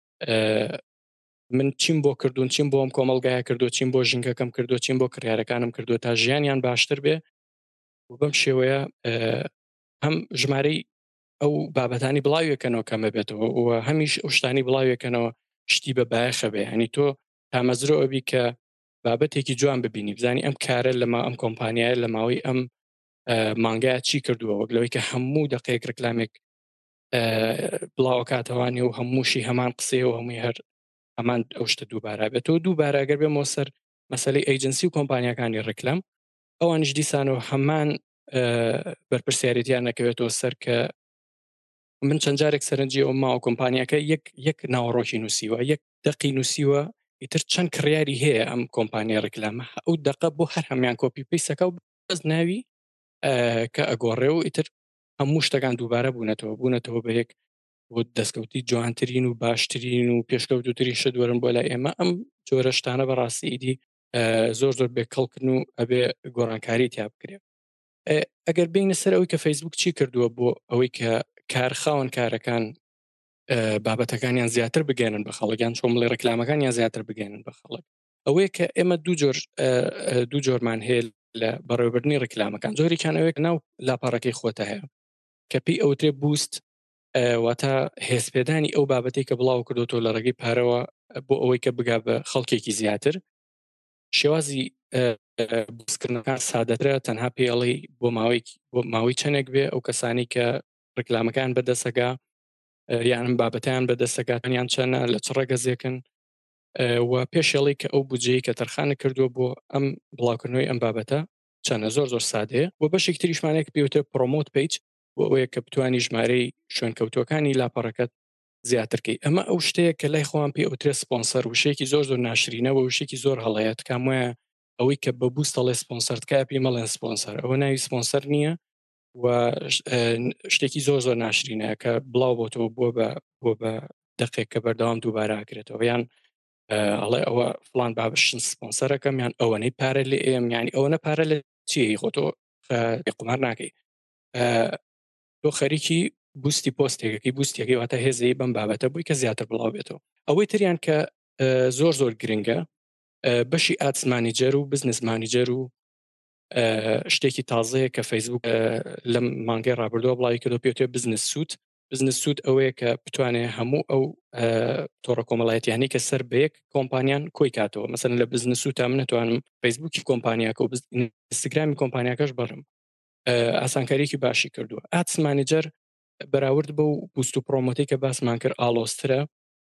من چیم بۆ کردوون چیم بۆ ئەم کۆمەلگایە کردو چیم بۆ ژینگەکەم کردو چیم بۆ کڕیارەکانم کردو تا ژیانیان باشتر بێ و بەم شێوەیە هەم ژمارەی ئەو بابەتانی بڵاویەکەنەوە کەمە بێتەوە و هەمیش ئەو شتانی بڵاویەکەنەوە شتی بە بایەخە بێ هەنی تۆ تامەزرۆ ئەبی کە بابەتێکی جوان ببینی بزانی ئەم کارە لەما ئەم کۆمپانیایە لە ماوەی ئەم مانگایە چی کردووە وەک لەوەی کە هەموو دقەیەک ڕکلامێک بڵاو کاتەوانی و هەمووشی هەمان قسەیە و هەمووی هەر هەمان ئەو شتە دووبارە بێتەوە دووبارە ئەگەر بێمەوە سەر مەسەلەی ئەیجنسی و کۆمپانیەکانی ڕکلام ئەوانش دیسانەوە هەمان بەرپرسیارەتیان نەکەوێتەوە سەر کە من چەند جارێک سەرنجی ئەو ماوە کۆمپانیەکە یەک یەک ناوەڕۆکی نووسیوە یەک دقی نووسیوە ئیتر چەند کڕیاری هەیە ئەم کۆمپانیا ڕکلامە ئەو دقە بۆ هەر هەمیان کۆپی پیسەکە و بەس ناوی کە ئەگۆڕێ و ئیتر هەموو شتەکان دووبارە بوونەتەوە بوونەتەوە بە یەک بۆ دەستکەوتی جوانترین و باشترین و پێشکەوتوترین شت وەرن بۆ لای ئێمە ئەم جۆرە شتانە بەڕاستی ئیدی زۆر زۆر بێکەڵکردن و ئەبێ گۆڕانکاری تیا بکرێت. ئەگەر بینە سەر ئەوەی کە فەیسبوک چی کردووە بۆ ئەوەی کە کارخاون کارەکان بابەتەکانیان زیاتر بگەێنن بە خەڵکیان چۆن بڵێ ڕکلامەکانیان زیاتر بگەێنن بە خەڵک ئەوەیە کە ئێمە دوو جۆر دوو جۆرمان هەیە لە بەڕێوەبردننی ڕکلامەکان زۆریان ئەوەیە ناو لاپەڕەکەی خۆتە هەیە کە پێی ئەوترێ بوست واتە هێزپێدانی ئەو بابەتی کە بڵاو کردوتۆ لە ڕێگەی پارەوە بۆ ئەوەی کە بگا بە خەڵکێکی زیاتر شێوازی بوستکردنەکان سادەترە تەنها پێڵی بۆ ماوەی بۆ ماوەی چەندێک بێ ئەو کەسانی کە ڕکلامەکان بەدەسەگا یانم بابەتیان بەدەستەکاتیان چەنە لە چ ڕێگەزێکن و پێشێڵی کە ئەو بودجەی کە تەرخانە کردووە بۆ ئەم بڵاوکردنەوەی ئەم بابەتە چەنە زۆر زۆر سادەیە بۆ بەشێک تریشمانێک پێوتە پرۆمۆت پیج بۆ ئەوەیە کە بتوانی ژمارەی شوێنکەوتوەکانی لاپەڕەکەت زیاترکەی ئەمە ئەو شتەیە کە لای خۆیان پێ ئەوترێ سپۆنسەر وشێکی زۆر زۆر ناشرینەوە وشێکی زۆر هەڵەیەت کام وایە ئەوەی کە بە بوستەڵێ سپۆنسەرتکە پێی مەڵێن سپۆنسەر ئەوە ناوی سپۆنسەر نییە و شتێکی زۆر زۆر ناشرینەیە کە بڵاو بۆتەوە بۆ بە بۆ بە دقێک کە بەردەوام دووباراکرێتەوە یان ئەڵێ ئەوە فلان بابشن سپۆنسەرەکەم یان ئەوەنەی پارە لێ ئێم ینی ئەوەنە پارە لە چی خۆتۆ قمار ناکەی تۆ خەریکی بوستی پۆستێکەکەی بوستێکی واتە هێزەی بەم بابەتە بووی کە زیاتر بڵاو بێتەوە ئەوەی تریان کە زۆر زۆر گرنگە بەشی ئاتس مانیجەر و بزنس مانیجەر و شتێکی تازەیە کە فەیسبوک لەم مانگەی ڕابردووە بڵاوی کردو پێوتێ بزنس سوود بزنس سوود ئەوەیە کە بتوانێت هەموو ئەو تۆڕە کۆمەڵایەتیانی کە سەر بەیەک کۆمپانیان کۆی کاتەوە مەسەن لە بزنس سوود تا من نتوانم فەیسبوکی کۆمپانیاکە و ئینستاگرامی کۆمپانیاکەش بڕم ئاسانکاریکی باشی کردووە ئاتس مانیجەر بەراورد بە و بوست و پرۆمۆتی کە باسمان کرد ئالۆسترە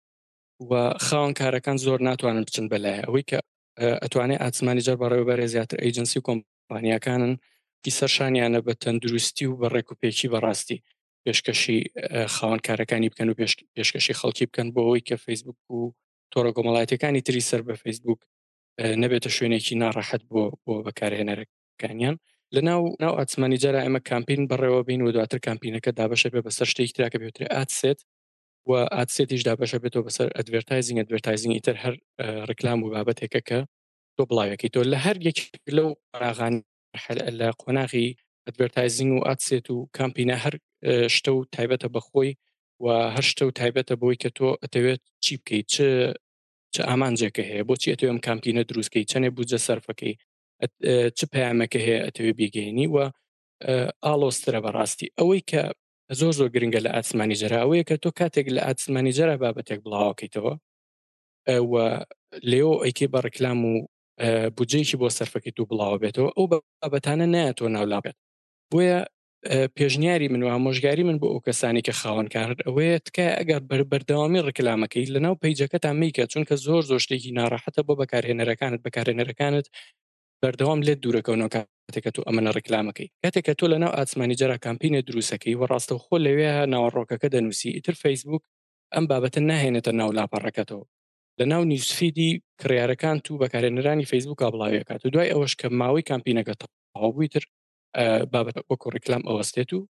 و خاوەن کارەکان زۆر ناتوانن بچن بەلایە ئەوەی کە ئەتوانێت ئاتس مانیجەر بەڕێوەبەرێ زیاتر ئەیجنسی و کۆمپانیاکانن کی سەرشانیانە بە تەندروستی و بە ڕێکوپێکی بەڕاستی پێشکەشی خاوەن کارەکانی بکەن و پێشکەشی خەڵکی بکەن بۆ ئەوەی کە فەیسبوک و تۆڕە کۆمەڵایەتەکانی تری سەر بە فەیسبوک نەبێتە شوێنێکی ناڕەحەت بۆ بۆ بەکارهێنەرەکانیان لە ناو ناو ئاتس مانیجەرە ئێمە کامپین بەڕێوە بین و دواتر کامپینەکە دابەشە بێ بەسەر شتێکی تراکە بێترێ ئاتسێت و ئاتسێتیش دابەشە بێتەوە بەسەر ئەدڤێرتایزینگ ئەدڤێرتایزینگی تر هەر ڕکلام و بابەتێکە کە تۆ بڵاوەکەی تۆ لە هەر یەک لەو ڕاغانی لە قۆناغی ئەدڤێرتایزینگ و ئاتسێت و کامپینە هەر شتە و تایبەتە بەخۆی و هەر شتە و تایبەتە بۆی کە تۆ ئەتەوێت چی بکەیت چ چه ئامانجێکە هەیە بۆچی ئەتەوێ ئەم کامپینە دروستکەی چەندێ بودجە سەرفەکەی چ پەیامەکە هەیە ئەتەوێ بیگەینی و ئالۆسترە بەڕاستی ئەوەی کە زۆر زۆر گرنگە لە ئاتس مانیجەرە ئەوەیە کە تۆ کاتێک لە ئاتس مانیجەرە بابەتێک بڵاوەکەیتەوە و لێو ئەیکێ بە ڕکلام و بودجەیەکی بۆ سەرفەکەی تو بڵاوە بێتەوە ئەو بابەتانە نایەتەوە ناولابێت بۆیە پێشنیاری من و ئامۆژگاری من بۆ ئەو کەسانی کە خاوەنکار ئەوەیە تکای ئەگەر بەردەوامی ڕکلامەکەی لەناو پەیجەکەتان میکە چونکە زۆر زۆر شتێکی ناڕەحەتە بۆ بەکارهێنەرەکانت بەکارهێنەرەکانت بەردەوام لێت دوورەکەونەوە کاتێکە تۆ ئەمەنە ڕکلامەکەی کاتێککە تۆ لەناو ئاتس مانیجەرە کامپینە دروستەکەی و ڕاستەوخۆ لەوێ ناوەڕۆکەکە دەنووسی ئیتر فەیسبوک ئەم بابەتە ناهێنێتە ناو لاپەڕەکەتەوە لە ناو نیوسفیدی کڕیارەکان تو بەکارهێنەرانی فەیسبوک بڵاویەکات و دوای ئەوەش کە ماوەی کامپینەکە تەواو بووی تر بابەت وەکو ڕکلام ئەوەستێت و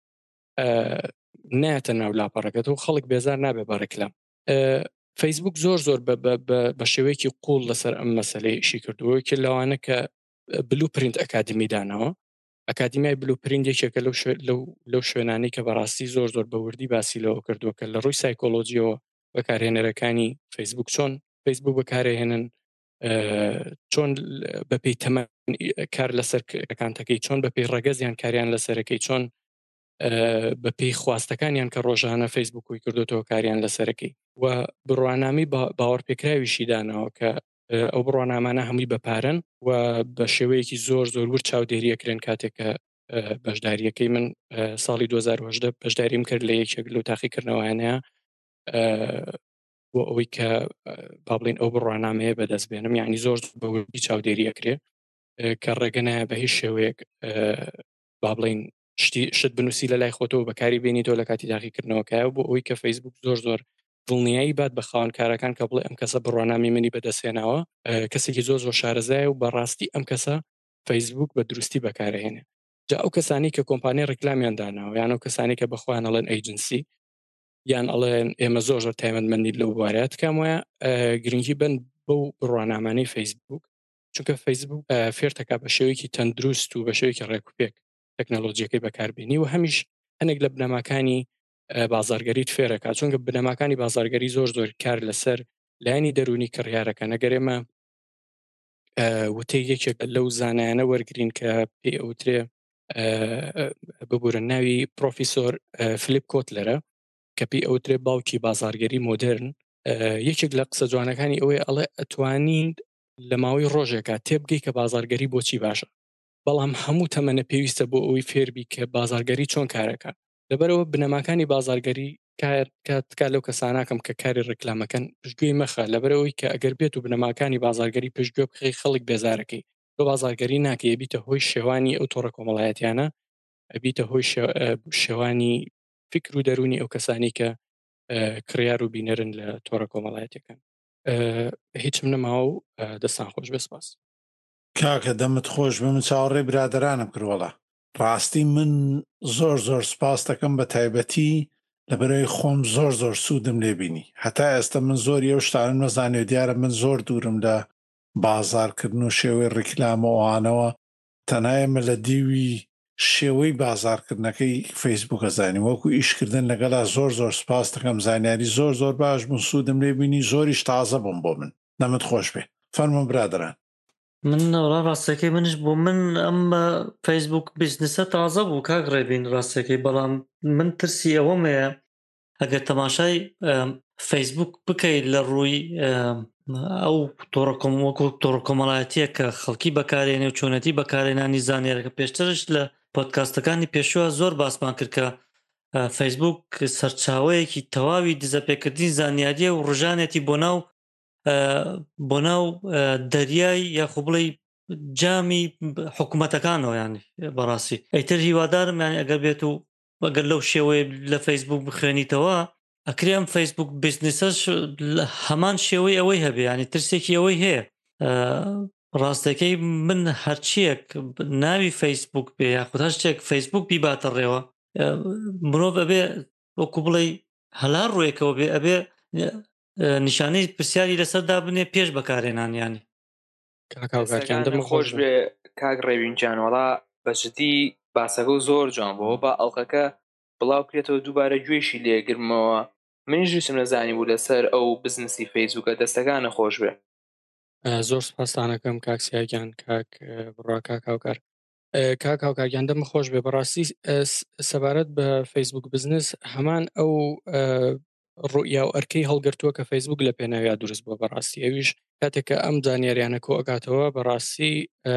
نایەتە ناو لاپەڕەکەت و خەڵک بێزار نابێ بە ڕکلام فەیسبوک زۆر زۆر بە شێوەیەکی قوڵ لەسەر ئەم مەسەلەی ئیشی کردووە کە لەوانە کە بلو پرینت ئەکادمی دانەوە ئەکادمیای بلو پرینت یەکێکە لەو شوێنانی کە بەڕاستی زۆر زۆر بەوردی باسی لەوە کردووە کە لە ڕووی سایکۆلۆجیەوە بەکارهێنەرەکانی فەیسبوک چۆن فەیسبوک بەکارهێنن چۆن بەپێی تەمەن کار لەسەر ئەکانتەکەی چۆن بەپێی ڕەگەزیان کاریان لەسەرەکەی چۆن بەپێی خواستەکانیان کە ڕۆژانە فەیسبووکی کردوتەوە کاریان لەسەرەکەی و بڕوانامی باوەڕپێکراویشی دانەوە کە ئەو بڕوانامانە هەمووی بەپارن و بە شێوەیەکی زۆر زۆر ور چاودێریەکرێن کاتێکە بەشداریەکەی من ساڵی دوو هەزار و هەژدە بەشداریم کرد لە یەکێک لەو تاقیکردنەوەیانەیە بۆ ئەوەی کە با بڵین ئەو بڕوانامەیە بەدەست بێنم یعنی زۆر بەوردی چاودێریەکرێ کە ڕێگەنایە بە هیچ شێوەیەک با بڵین شت بنووسی لە لای خۆتەوە بەکاری بێنیتەوە لە کاتی تاقیکردنەوەکایە بۆ ئەوەی کە فەیسبوک زۆر زۆر دڵنیایی بات بە خاوەنکارەکان کە بڵێ ئەم کەسە بڕوانامی منی بەدەستێناوە کەسێکی زۆر زۆر شارەزایە و بەڕاستی ئەم کەسە فەیسبوک بە دروستی بەکارهێنێ جا ئەو کەسانی کە کۆمپانیای ڕکلامیان داناوە یان ئەو کەسانی کە بەخۆیان ئەڵێن ئەیجنسی یان ئەڵێن ئێمە زۆر زۆر تایبەتمەندی لەو بوارەیە تکام وایە گرنگی بن بەو بڕوانامانەی فەیسبوک، چونکە فەیسبوک فێرتەکە بە شێوەیەکی تەندروست و بە شێوەیەکی ڕێکوپێک تەکنەلۆجیەکەی بەکاربێنی و هەمیش هەنێک لە بنەماکانی بازارگەریت فێرەکە، چونکە بنەماکانی بازارگەری زۆر زۆر کار لەسەر لایانی دەرونی کڕیارەکە. نەگەرێمە وتەی یەکێک لەو زانایانە وەرگرین کە پێی ئەوترێ ببورن ناوی پرۆفیسۆر فلیپ کۆتلەرە کە پێی ئەوترێ باوکی بازارگەری مۆدرن. یەکێک لە قسە جوانەکانی ئەوەیە ئەڵێ ئەتوانین لە ماوەی ڕۆژێکە تێبگەی کە بازارگەری بۆچی باشە، بەڵام هەموو تەمەنە پێویستە بۆ ئەوەی فێربی کە بازارگەری چۆن کارەکە. لەبەرەوە بنەماکانی بازارگەری کاتکات لەو کەساناکەم کە کاری ڕێکلامەکەن پشتگوێی مەخە، لەبەرەوەی کە ئەگەر بێت و بنەماکانی بازارگەری پشتگوێ بخی خەڵک بێزارەکەی بۆ بازارگەری ناکە، ئەبیتە هۆی شێوانی ئەو تۆڕە کۆمەڵایەتیانە، ئەبیتە هۆی شێوانی فکر و دەرونی ئەو کەسانی کە کڕیار و بینەرن لە تۆڕە کۆمەڵایەتەکان. هیچم نەماوە و دەستان خۆش بەسپاس. کاکە دەمت خۆش بم، چاوەڕێ برادرانم کردوڵە. ڕاستی من زۆر زۆر سپاس دەکەم بە تایبەتی لەبەرەوەی خۆم زۆر زۆر سوودم لێبینی. هەتا ئێستا من زۆری ئەو شتانم نەزانێ، دیارە من زۆر دوورم لە بازارکردن و شێوەی ڕیکلامەوەوانەوە، تەنایەمە لە دیوی شێوەی بازارکردنەکەی فەیسبووکە زانیم، وەکو ئیشکردن لەگەڵا زۆر زۆر سپاس دەکەم، زانیاری زۆر زۆر باش بوون، سوودم لێبینی، زۆریش تازە بووم بۆ من. دەمت خۆش بێ. فەرموو برادران. من نەوەڕا ڕاستەکەی منش بۆ من ئەم فەیسبوک بیزنسە تازە بوو کاک ڕێبین ڕاستەکەی، بەڵام من ترسی ئەوەمەیە ئەگەر تەماشای فەیسبوک بکەیت لە ڕووی ئەو وەکو تۆڕە کۆمەڵایەتیە کە خەڵکی بەکارێنێ و چۆنەتی بەکارێنانی زانیارەکە. پێشترش لە پۆدکاستەکانی پێشووە زۆر باسمان کرد کە فەیسبوک سەرچاوەیەکی تەواوی دزەپێکردنی زانیاریە و ڕژانێتی بۆ ناو بۆ ناو دەریای یاخۆ بڵێ جامی حکوومەتەکانەوە. ینی بەڕاستی ئەیتر هیوادارم یانی ئەگەر بێت و ئەگەر لەو شێوەیە لە فەیسبوک بخوێنیتەوە ئەکرێم فەیسبوک بیزنسەش هەمان شێوەی ئەوەی هەبێ، ینی ترسێکی ئەوەی هەیە. ڕاستەکەی من هەرچیەک ناوی فەیسبوک بێ یاخود هەر شتێک فەیسبوک بیباتە ڕێوە، مرۆڤ ئەبێ وەکو بڵێ هەلار ڕوویەکەوە بێ، ئەبێ نیشانەی پرسیاری لەسەردا بنێ پێش بەکارێنانیانی. خۆش بێ کاک ڕێبین جانوەڵا، بەجددی باسەکە و زۆر جوان بۆەوە بە ئەڵلقەکە بڵاو کرێتەوە دووبارە گوێشی لێگرمەوە. منیش ویستم نەزانی بوو لەسەر ئەو بزنسی فەیسبوکە. دەستەکانە خۆش بێ. زۆر سپاسانەکەم کاک سیاگیان، کاک بڕا کاک هاوکار. کاک هاوکارگیان دەمە خۆش بێ. بەڕاستی سەبارەت بە فەیسبوک بزنس هەمان ئەو ڕوئیا و ئەرکەی هەڵگرتووە کە فەیسبوک لە پێناویا دروست بووە. بەڕاستی ئەویش کاتێککە ئەم زانیاریانە کۆ ئەگاتەوە بەڕاستی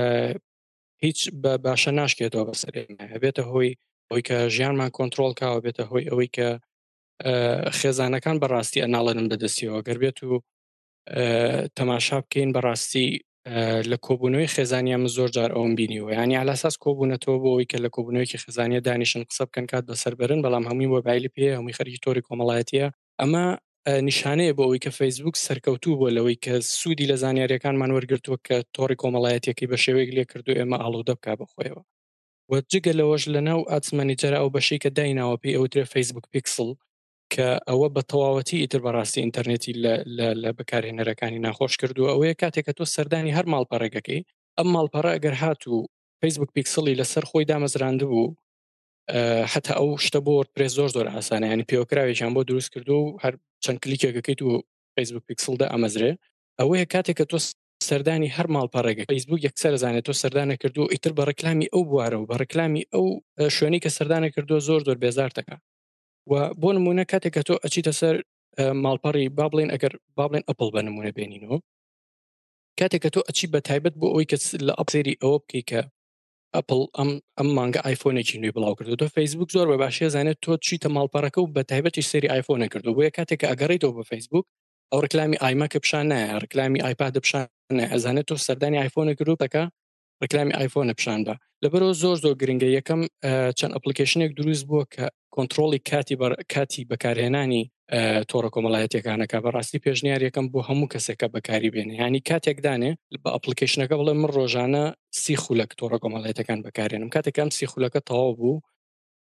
هیچ بە باشە ناشکێتەوە بەسەرێ، هەبێتە هۆی ئەوەی کە ژیانمان کۆنتترۆل کاوە، بێتە هۆی ئەوەی کە خێزانەکان بەڕاستی ئەناڵەنم بەدەستیەوە. گەر بێت و تەماشا بکەین بەڕاستی لە کۆبوونەوەی خێزانیان من زۆر جار ئەوم بینیوە، ینی علاساس کۆبوونەتەوە بۆ ئەوەی کە لە کۆبوونەوەیکی خێزانیە دانیشن قسە بکەن کات بەسەربەرن، بەڵام هەمووی مۆبایلی پێ، هەمووی خەریکی تۆڕی کۆمەڵایەتیە. ئەمە نیشانەیە بۆ ئەوەی کە فەیسبوک سەرکەوتوو بۆ لەوەی کە سوودی لە زانیاریەکانمان وەرگرتووە کە تۆڕی کۆمەڵایەتیەکەی بە شێوەیەک لێ کردو ئێمە ئاڵوودە بکا بەخۆیەوە. و جگە لەوەش لەناو ئاتمەنیجەرە ئەو بەشەی کە دایناوە پێی ئەوترێ فەیسبوک پیکسل کە ئەوە بە تەواوەتی ئیتر بەڕاستی ئینتەرنێتی لە بەکارهێنەرەکانی ناخۆش کردووە. ئەوەیە کاتێککە تۆ سەردانی هەر ماڵپەڕێگەکەی، ئەم ماڵپەڕە ئەگەر هاتوو فەیسبوک پیکسلی لەسەر خۆی دامەزراند بوو، حتا ئەو شتە بۆ وەردپرێس زۆر زۆر ئاسانە، ینی پێوەکراوێکیان بۆ دروست کردو و هەر چەند کلیکێکەکەیت و فەیسبوک پیکسلدا ئەمەزرێ. ئەوەیە کاتێککە تۆ سەردانی هەر ماڵپەڕێگە فەیسبوک یەکسەر زانێت تۆ سەردانە کردو، ئیتر بە ڕێکلامی ئەو بوارە و بە ڕێکلامی ئەو شوێنی کە سەردانە کردو زۆر زۆر بێزار دەکا. و بۆ نمونە کاتێککە تۆ ئەچیتە سەر ماڵپەڕی با بڵێن ئەگەر با بڵێن ئەپڵ بە نمونە بێنینەوە، کاتێککە تۆ ئەچی بە تایبەت بۆ ئەوەی کە لە ئەپسێری ئەوە بکەی کە ئەپڵ ئەم ئەم مانگە ئایفۆنێکی نوێی بڵاو کردو، تۆ فەیسبوک زۆر بە باشی زانێت تۆ چیتە ماڵپەڕەکە و بە تایبەتی سەری ئایفۆنە کردو، بۆیە کاتێککە ئەگەڕێیتەوە بە فەیسبوک ئەو ڕکلامی ئایمەکە پیشان نایە، ڕکلامی ئایپاد پیشان نایە، ئەزانێت تۆ سەردانی ئایفۆنە گروپەکە ڕکلامی ئایفۆنە پیشان بە. لەبەرەوە زۆر زۆر گرنگە یەکەم چەند ئەپلیکیشنێک دروست بووە کە کۆنتترۆلی کاتی کاتی بەکارهێنانی تۆڕە کۆمەڵایەتیەکانەکە. بەڕاستی پێشنیار یەکەم بۆ هەموو کەسێکە بەکاری بێنێ، ینی کاتێکدانێ بە ئەپلیکیشنەکە بڵێ من ڕۆژانە سی خولەک تۆڕە کۆمەڵایەتەکان بەکارێنم، کاتێکم سی خولەکە تەواو بوو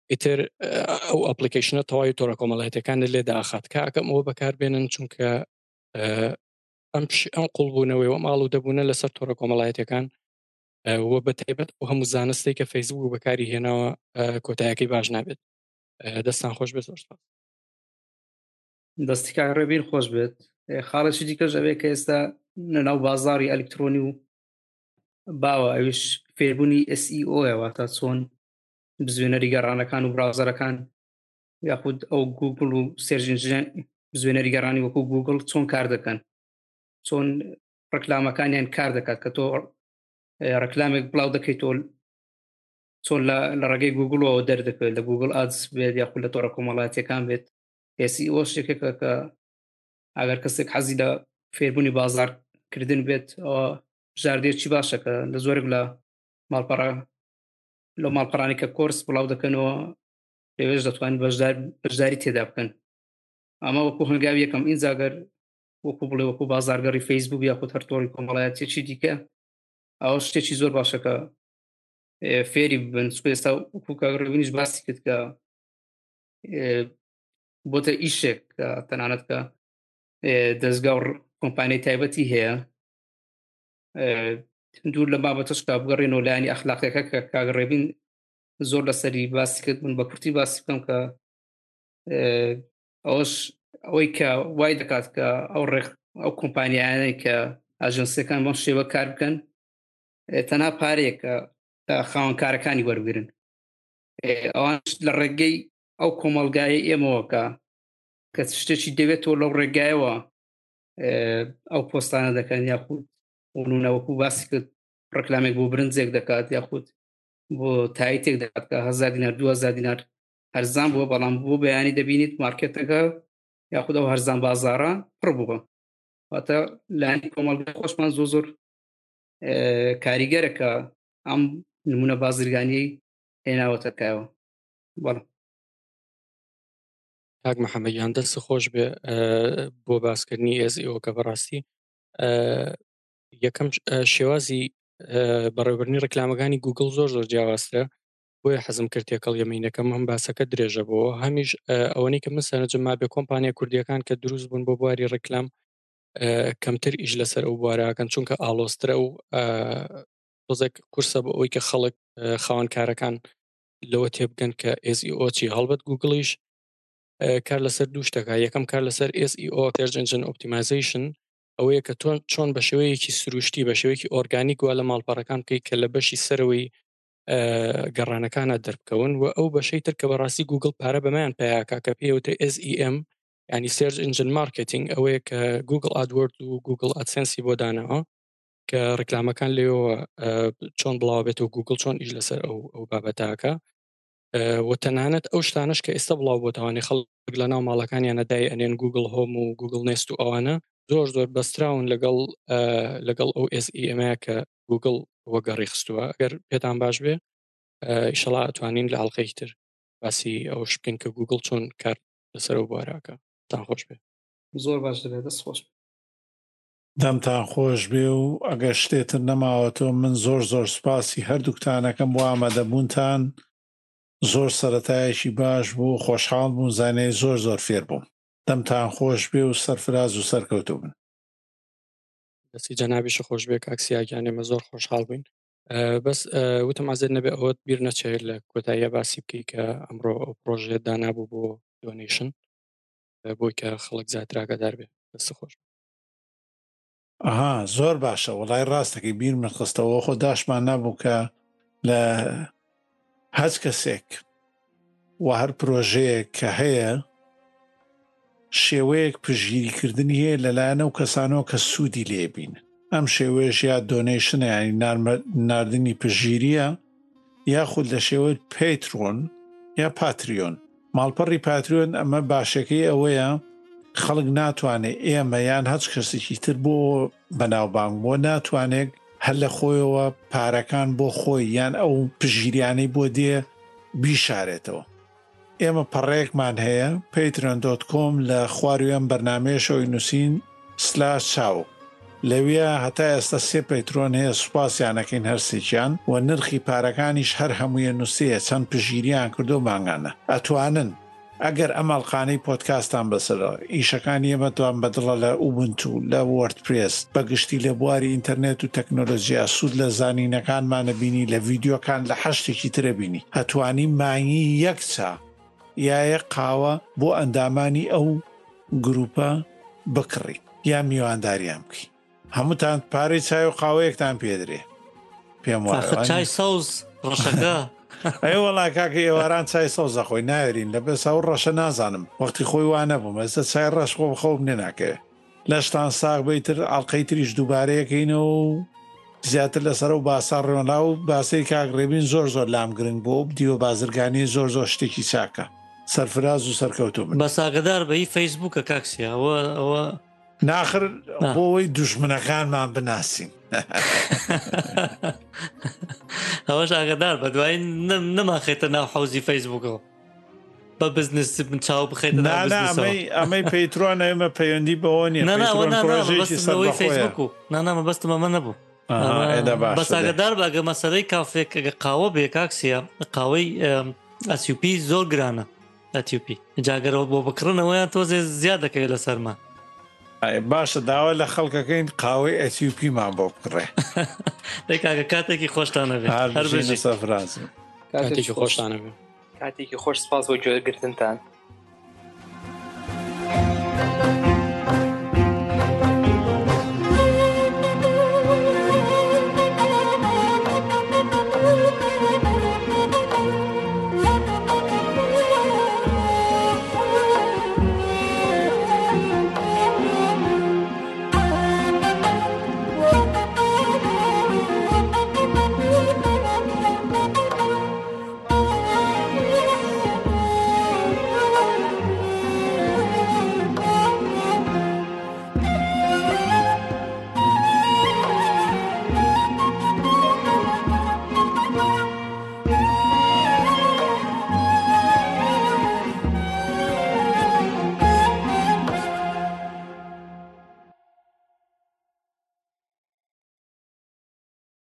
ئیتر ئەو ئەپلیکیشنە تەواوی تۆڕە کۆمەڵایەتەکانە لێ داخات کاکەم ئەوە بەکاربێنن چونکە ئەم ئەم قوڵبوونەوەی و ماڵ و دەبوونە لەسەر تۆڕە کۆمەڵایەتەکان وە بە تایبەت و هەموو زانستی کە فەیسبوک بەکاری هێناوە کۆتاییەکەی باش نابێت. دەستان خۆش بێت. زۆر سپاس. دەستی کاڕێبین خۆش بێت. خاڵێکی دیکەش ئەوەیە کە ئێستا لەناو بازاڕی ئەلکترۆنی و باوە ئەویش فێربوونی ئێس ئی ئۆ واتە چۆن بزوێنەری گەڕانەکان و براوزەرەکان یاخود ئەو گوگل و سێرچ ئینجین بزوێنەری گەڕانی وەکو گوگل چۆن کار دەکەن، چۆن ڕکلامەکانیان کار دەکات کە تۆ ڕکلامێک بڵاو دەکەیت تۆ چۆن لە ڕێگەی گوگلەوە دەردەکەوێت لە گوگل ئادس بێت یاخود لە تۆڕە کۆمەڵایەتیەکان بێت. ئێس ئی ئۆ شتێکێکە کە ئەگەر کەسێک حەزی لە فێربوونی بازاڕکردن بێت ئەوە ژاردێکی باشە کە لە زۆرێک لە ماڵپەڕە لە ماڵپەڕانی کە کۆرس بڵاو دەکەنەوە لەوێش دەتوانین بەشداری تێدا بکەن. ئەمە وەکو هەنگاوی یەکەم ئینجاگەر وەکو بڵێ وەکو بازارگەڕی فەیسبوک یاخود هەر تۆڕی کۆمەڵایەتێکی دیکە ئەوە شتێکی زۆر باشە کە فێری ببن. ئێستا وەکو کاگڕێبینیش باسی کرد کە بۆتە ئیشێک کە تەنانەت کە دەستگا و کۆمپانیای تایبەتی هەیە دوور لە بابەتەش کا بگەڕێنەوە لایانی ئەخلاقیەکە کە کاگڕێبین زۆر لەسەری باسی کرد من بە کورتی باسی بکەم کە ئەوش ئەوەی کە وای دەکات کە ئەو ڕێک ئەو کۆمپانیانەی کە ئاژەنسیەکان بەم شێوە کار بکەن تەنها پارەیەکە کە خاوەنکارەکانی وەرگرن. ئەوان لە ڕێگەی ئەو کۆمەڵگایە ئێمەوە کە کە شتێکی دەوێتەوە لەو ڕێگایەوە ئەو پۆستانە دەکەن یاخود ونونەوەکو باسی کرد ڕکلامێک بۆ برنجێک دەکات یاخود بۆ تاییتێک دەکات کە هەزار دینار دو هەزار دینار هەرزان بووە بەڵام بۆ بەیانی دەبینیت مارکێتەکە یاخود ئەو هەرزان بازاڕە پڕ بووە. واتە لایانی کۆمەڵگای خۆشمان زۆر زۆر کاریگەرە کە ئەم نمونە بازرگانیەی هێناوەتە کایەوە. بەڵێ کاک محەممەدیان دەست خۆش بێ بۆ باسکردنی ئێس ئی ئۆ کە بەڕاستی یەکەم شێوازی بەڕێوەبردنی ڕکلامەکانی گوگل زۆر زۆر جیاوازترە بۆیە حەزم کرد تێکەڵ یەمینەکەم هەم باسەکە درێژە بۆ هەمیش ئەوەی کە من سەرنجم ما بێ کۆمپانیا کوردیەکان کە دروست بوون بۆ بواری ڕکلام کەمتر ئیش لەسەر ئەو بوارەکەن چونکە ئالۆسترە و تۆزێک کورسە بە ئەوەی کە خەڵک خاوەنکارەکان لەوە تێبگەن کە ئێس ئی ئۆ چی هەڵبەت گوگڵیش کار لەسەر دوو شتەکە. یەکەم کار لەسەر ئێس ئی ئۆ سێرچ ئینجین ئۆپتیمایزیشن ئەوەیە کە تۆ چۆن بە شێوەیەکی سروشتی بە شێوەیەکی ئۆرگانیک وە لە ماڵپەڕەکان بکەیت کە لە بەشی سەرەوەی گەڕانەکانە دەربکەون و ئەو بەشەی تر کە بەڕاستی گوگل پارە بەمایان پیاکە کە پێوتە ئێس ئی ئێم ینی سێرچ ئینجین مارکتینگ ئەوەیە کە گوگل ئادوەرد و گوگل ئادسنسی بۆ دانەوە کە ڕکلامەکان لێەوە چۆن بڵاو بێتەوە گوگل چۆن ئیش لەسەر ئەو ئەو بابەتاکە و تەنانەت ئەو شتانش کە ئێستا بڵاو بۆتەوانی خەڵک لە ناو ماڵەکانیانە دای ئەنێن گوگل هۆم و گوگل نێست و ئەوانە زۆر زۆر بەستراون لەگەڵ لەگەڵ ئەو ئێس ئی ئێمەیە کە گوگل وەگەڕی خستووە. ئەگەر پێتان باش بێ ئیشەڵا ئەتوانین لە ئەڵلقەی تر باسی ئەوش بکەین کە گوگل چۆن کار لەسەر ئەو بوارەکە. تان خۆش بێ. زۆر باش دەبێت. دەست خۆش دەمتان خۆش بێ و ئەگەر شتێتر نەماوەتەوە من زۆر زۆر سپاسی هەردووکتانەکەم بۆ ئامادەبوونتان زۆر سەرەتایەکی باش بوو خۆشحاڵ بوون زانەی زۆر زۆر فێر بووم. دەمتان خۆش بێ و سەرفراز و سەرکەوتوو بن. دەستی جەنابیش خۆش بێ کاکسیاگیان ئێمە زۆر خۆشحاڵ بووین. بەس وتم ئازێت نەبێ ئەوەت بیر نەچێت لە کۆتاییە باسی بکەی کە ئەمڕۆ ئەو پرۆژێت دانابوو بۆ دۆنیشن بۆی کە خەڵک زیاتراگەدار بێ. دەست خۆش. ئەها زۆر باشە وەڵای ڕاستەکەی بیر من خستەوە خۆ داشمان نەبوو کە لە هەچ کەسێک و هەر پرۆژەیەک کە هەیە شێوەیەک پژگیریکردنی هەیە لەلایەنە و کەسانەوە کە سوودی لێبین. ئەم شێوەیەش یا دۆنیشنە ینی ناردنی پژگیریە یاخود لە شێوەی پەیترۆن یا پاتریۆن. ماڵپەڕی پاتریۆن ئەمە باشەکەی ئەوەیە خەڵک ناتوانێت ئێمە یان هەچ کەسێکی تر بۆ بەناوبانگ بۆ ناتوانێت هەر لە خۆیەوە پارەکان بۆ خۆی یان ئەو پژگیریانەی بۆ دێ بیشارێتەوە. ئێمە پەڕەیەکمان هەیە پەیترۆن دۆت کۆم لە خواروێن بەرنامەیەشەوەی نووسین سلاش چاو لەوێ هەتا ئێستا سێ پەیترۆن هەیە سوپاسیانەکەین هەرسێکیان و نرخی پارەکانیش هەر هەموویە نووسەیە چەند پژگیریان کردو ماگانە ئەتوانن ئەگەر ئەمەڵقانەی پۆدکاستان بەسەرە ئیشەکانی ئێمەتوان بەدڵە لە ئوبنتو لە وەردپرێس بەگشتی لە بواری ئینتەرنێت و تەکنۆلۆژیا سوود لە زانینەکانمانە بینی لە ڤیددیۆکان لە حەشتێکی ترە بینی هەتوانی مانگی یەک چا یایە قاوە بۆ ئەندامانی ئەو گروپە بکڕی یا میوانداریان بکەی هەمووتان پارەی چای و قاوەیەکتان پێدرێ پێم وایە چای سەوز ڕەشەکە ئەی وەڵا کاکە ئێواران چای سەوزە خۆی ناوێرین لە بێ ساو ڕەشە نازانم وەختی خۆی وانە بووم ئێستا چای ڕەش خۆ بخۆ بنێ ناکەوێت لەشتان ساغ بیتر ئەڵلقەی تریش دووبارەیەکەینەوە و زیاتر لەسەر و باسا ڕێوەلا و باسی کاگڕێبین زۆر زۆر لام گرنگ بۆ دیوە بازرگانی زۆر زۆر شتێکی چاکە سەرفراز و سەرکەوتو من بە ساگەدار بەی فەیسبووکە کاکسیا ئەوە ئەوە ناخر بۆی دوژمنەکانمان بناسیین ئەوەش ئاگدار بە دوای نەماخێتە ناو حوزی فەیسبووکەوە بە بزنس من چاو بخێتە ئەمەی پەیترۆن ئێمە پەیوەندی بەوە نیە فەیسبووک نانامە بەستمە مە نەبوو بە ساگەدار بەگە مەسەرەی کافێک قاوە بێ کاکسیە قاوەی ئەسیوپی زۆر گرانە ئەتیوپی جاگەرەوە بۆ بکڕنەوەیان تۆزێ زیاد دەکەوێت لەسەرمان باشە داوا لە خەڵکەکەین قاوەی ئەتیوپیمان بۆ بکڕێ کاکە کاتێکی خۆشتانە بێت هەر بژێ سەفراز کاتێکی خۆشتانە بێت کاتێکی خۆش سپاس بۆ گوێگرتنتان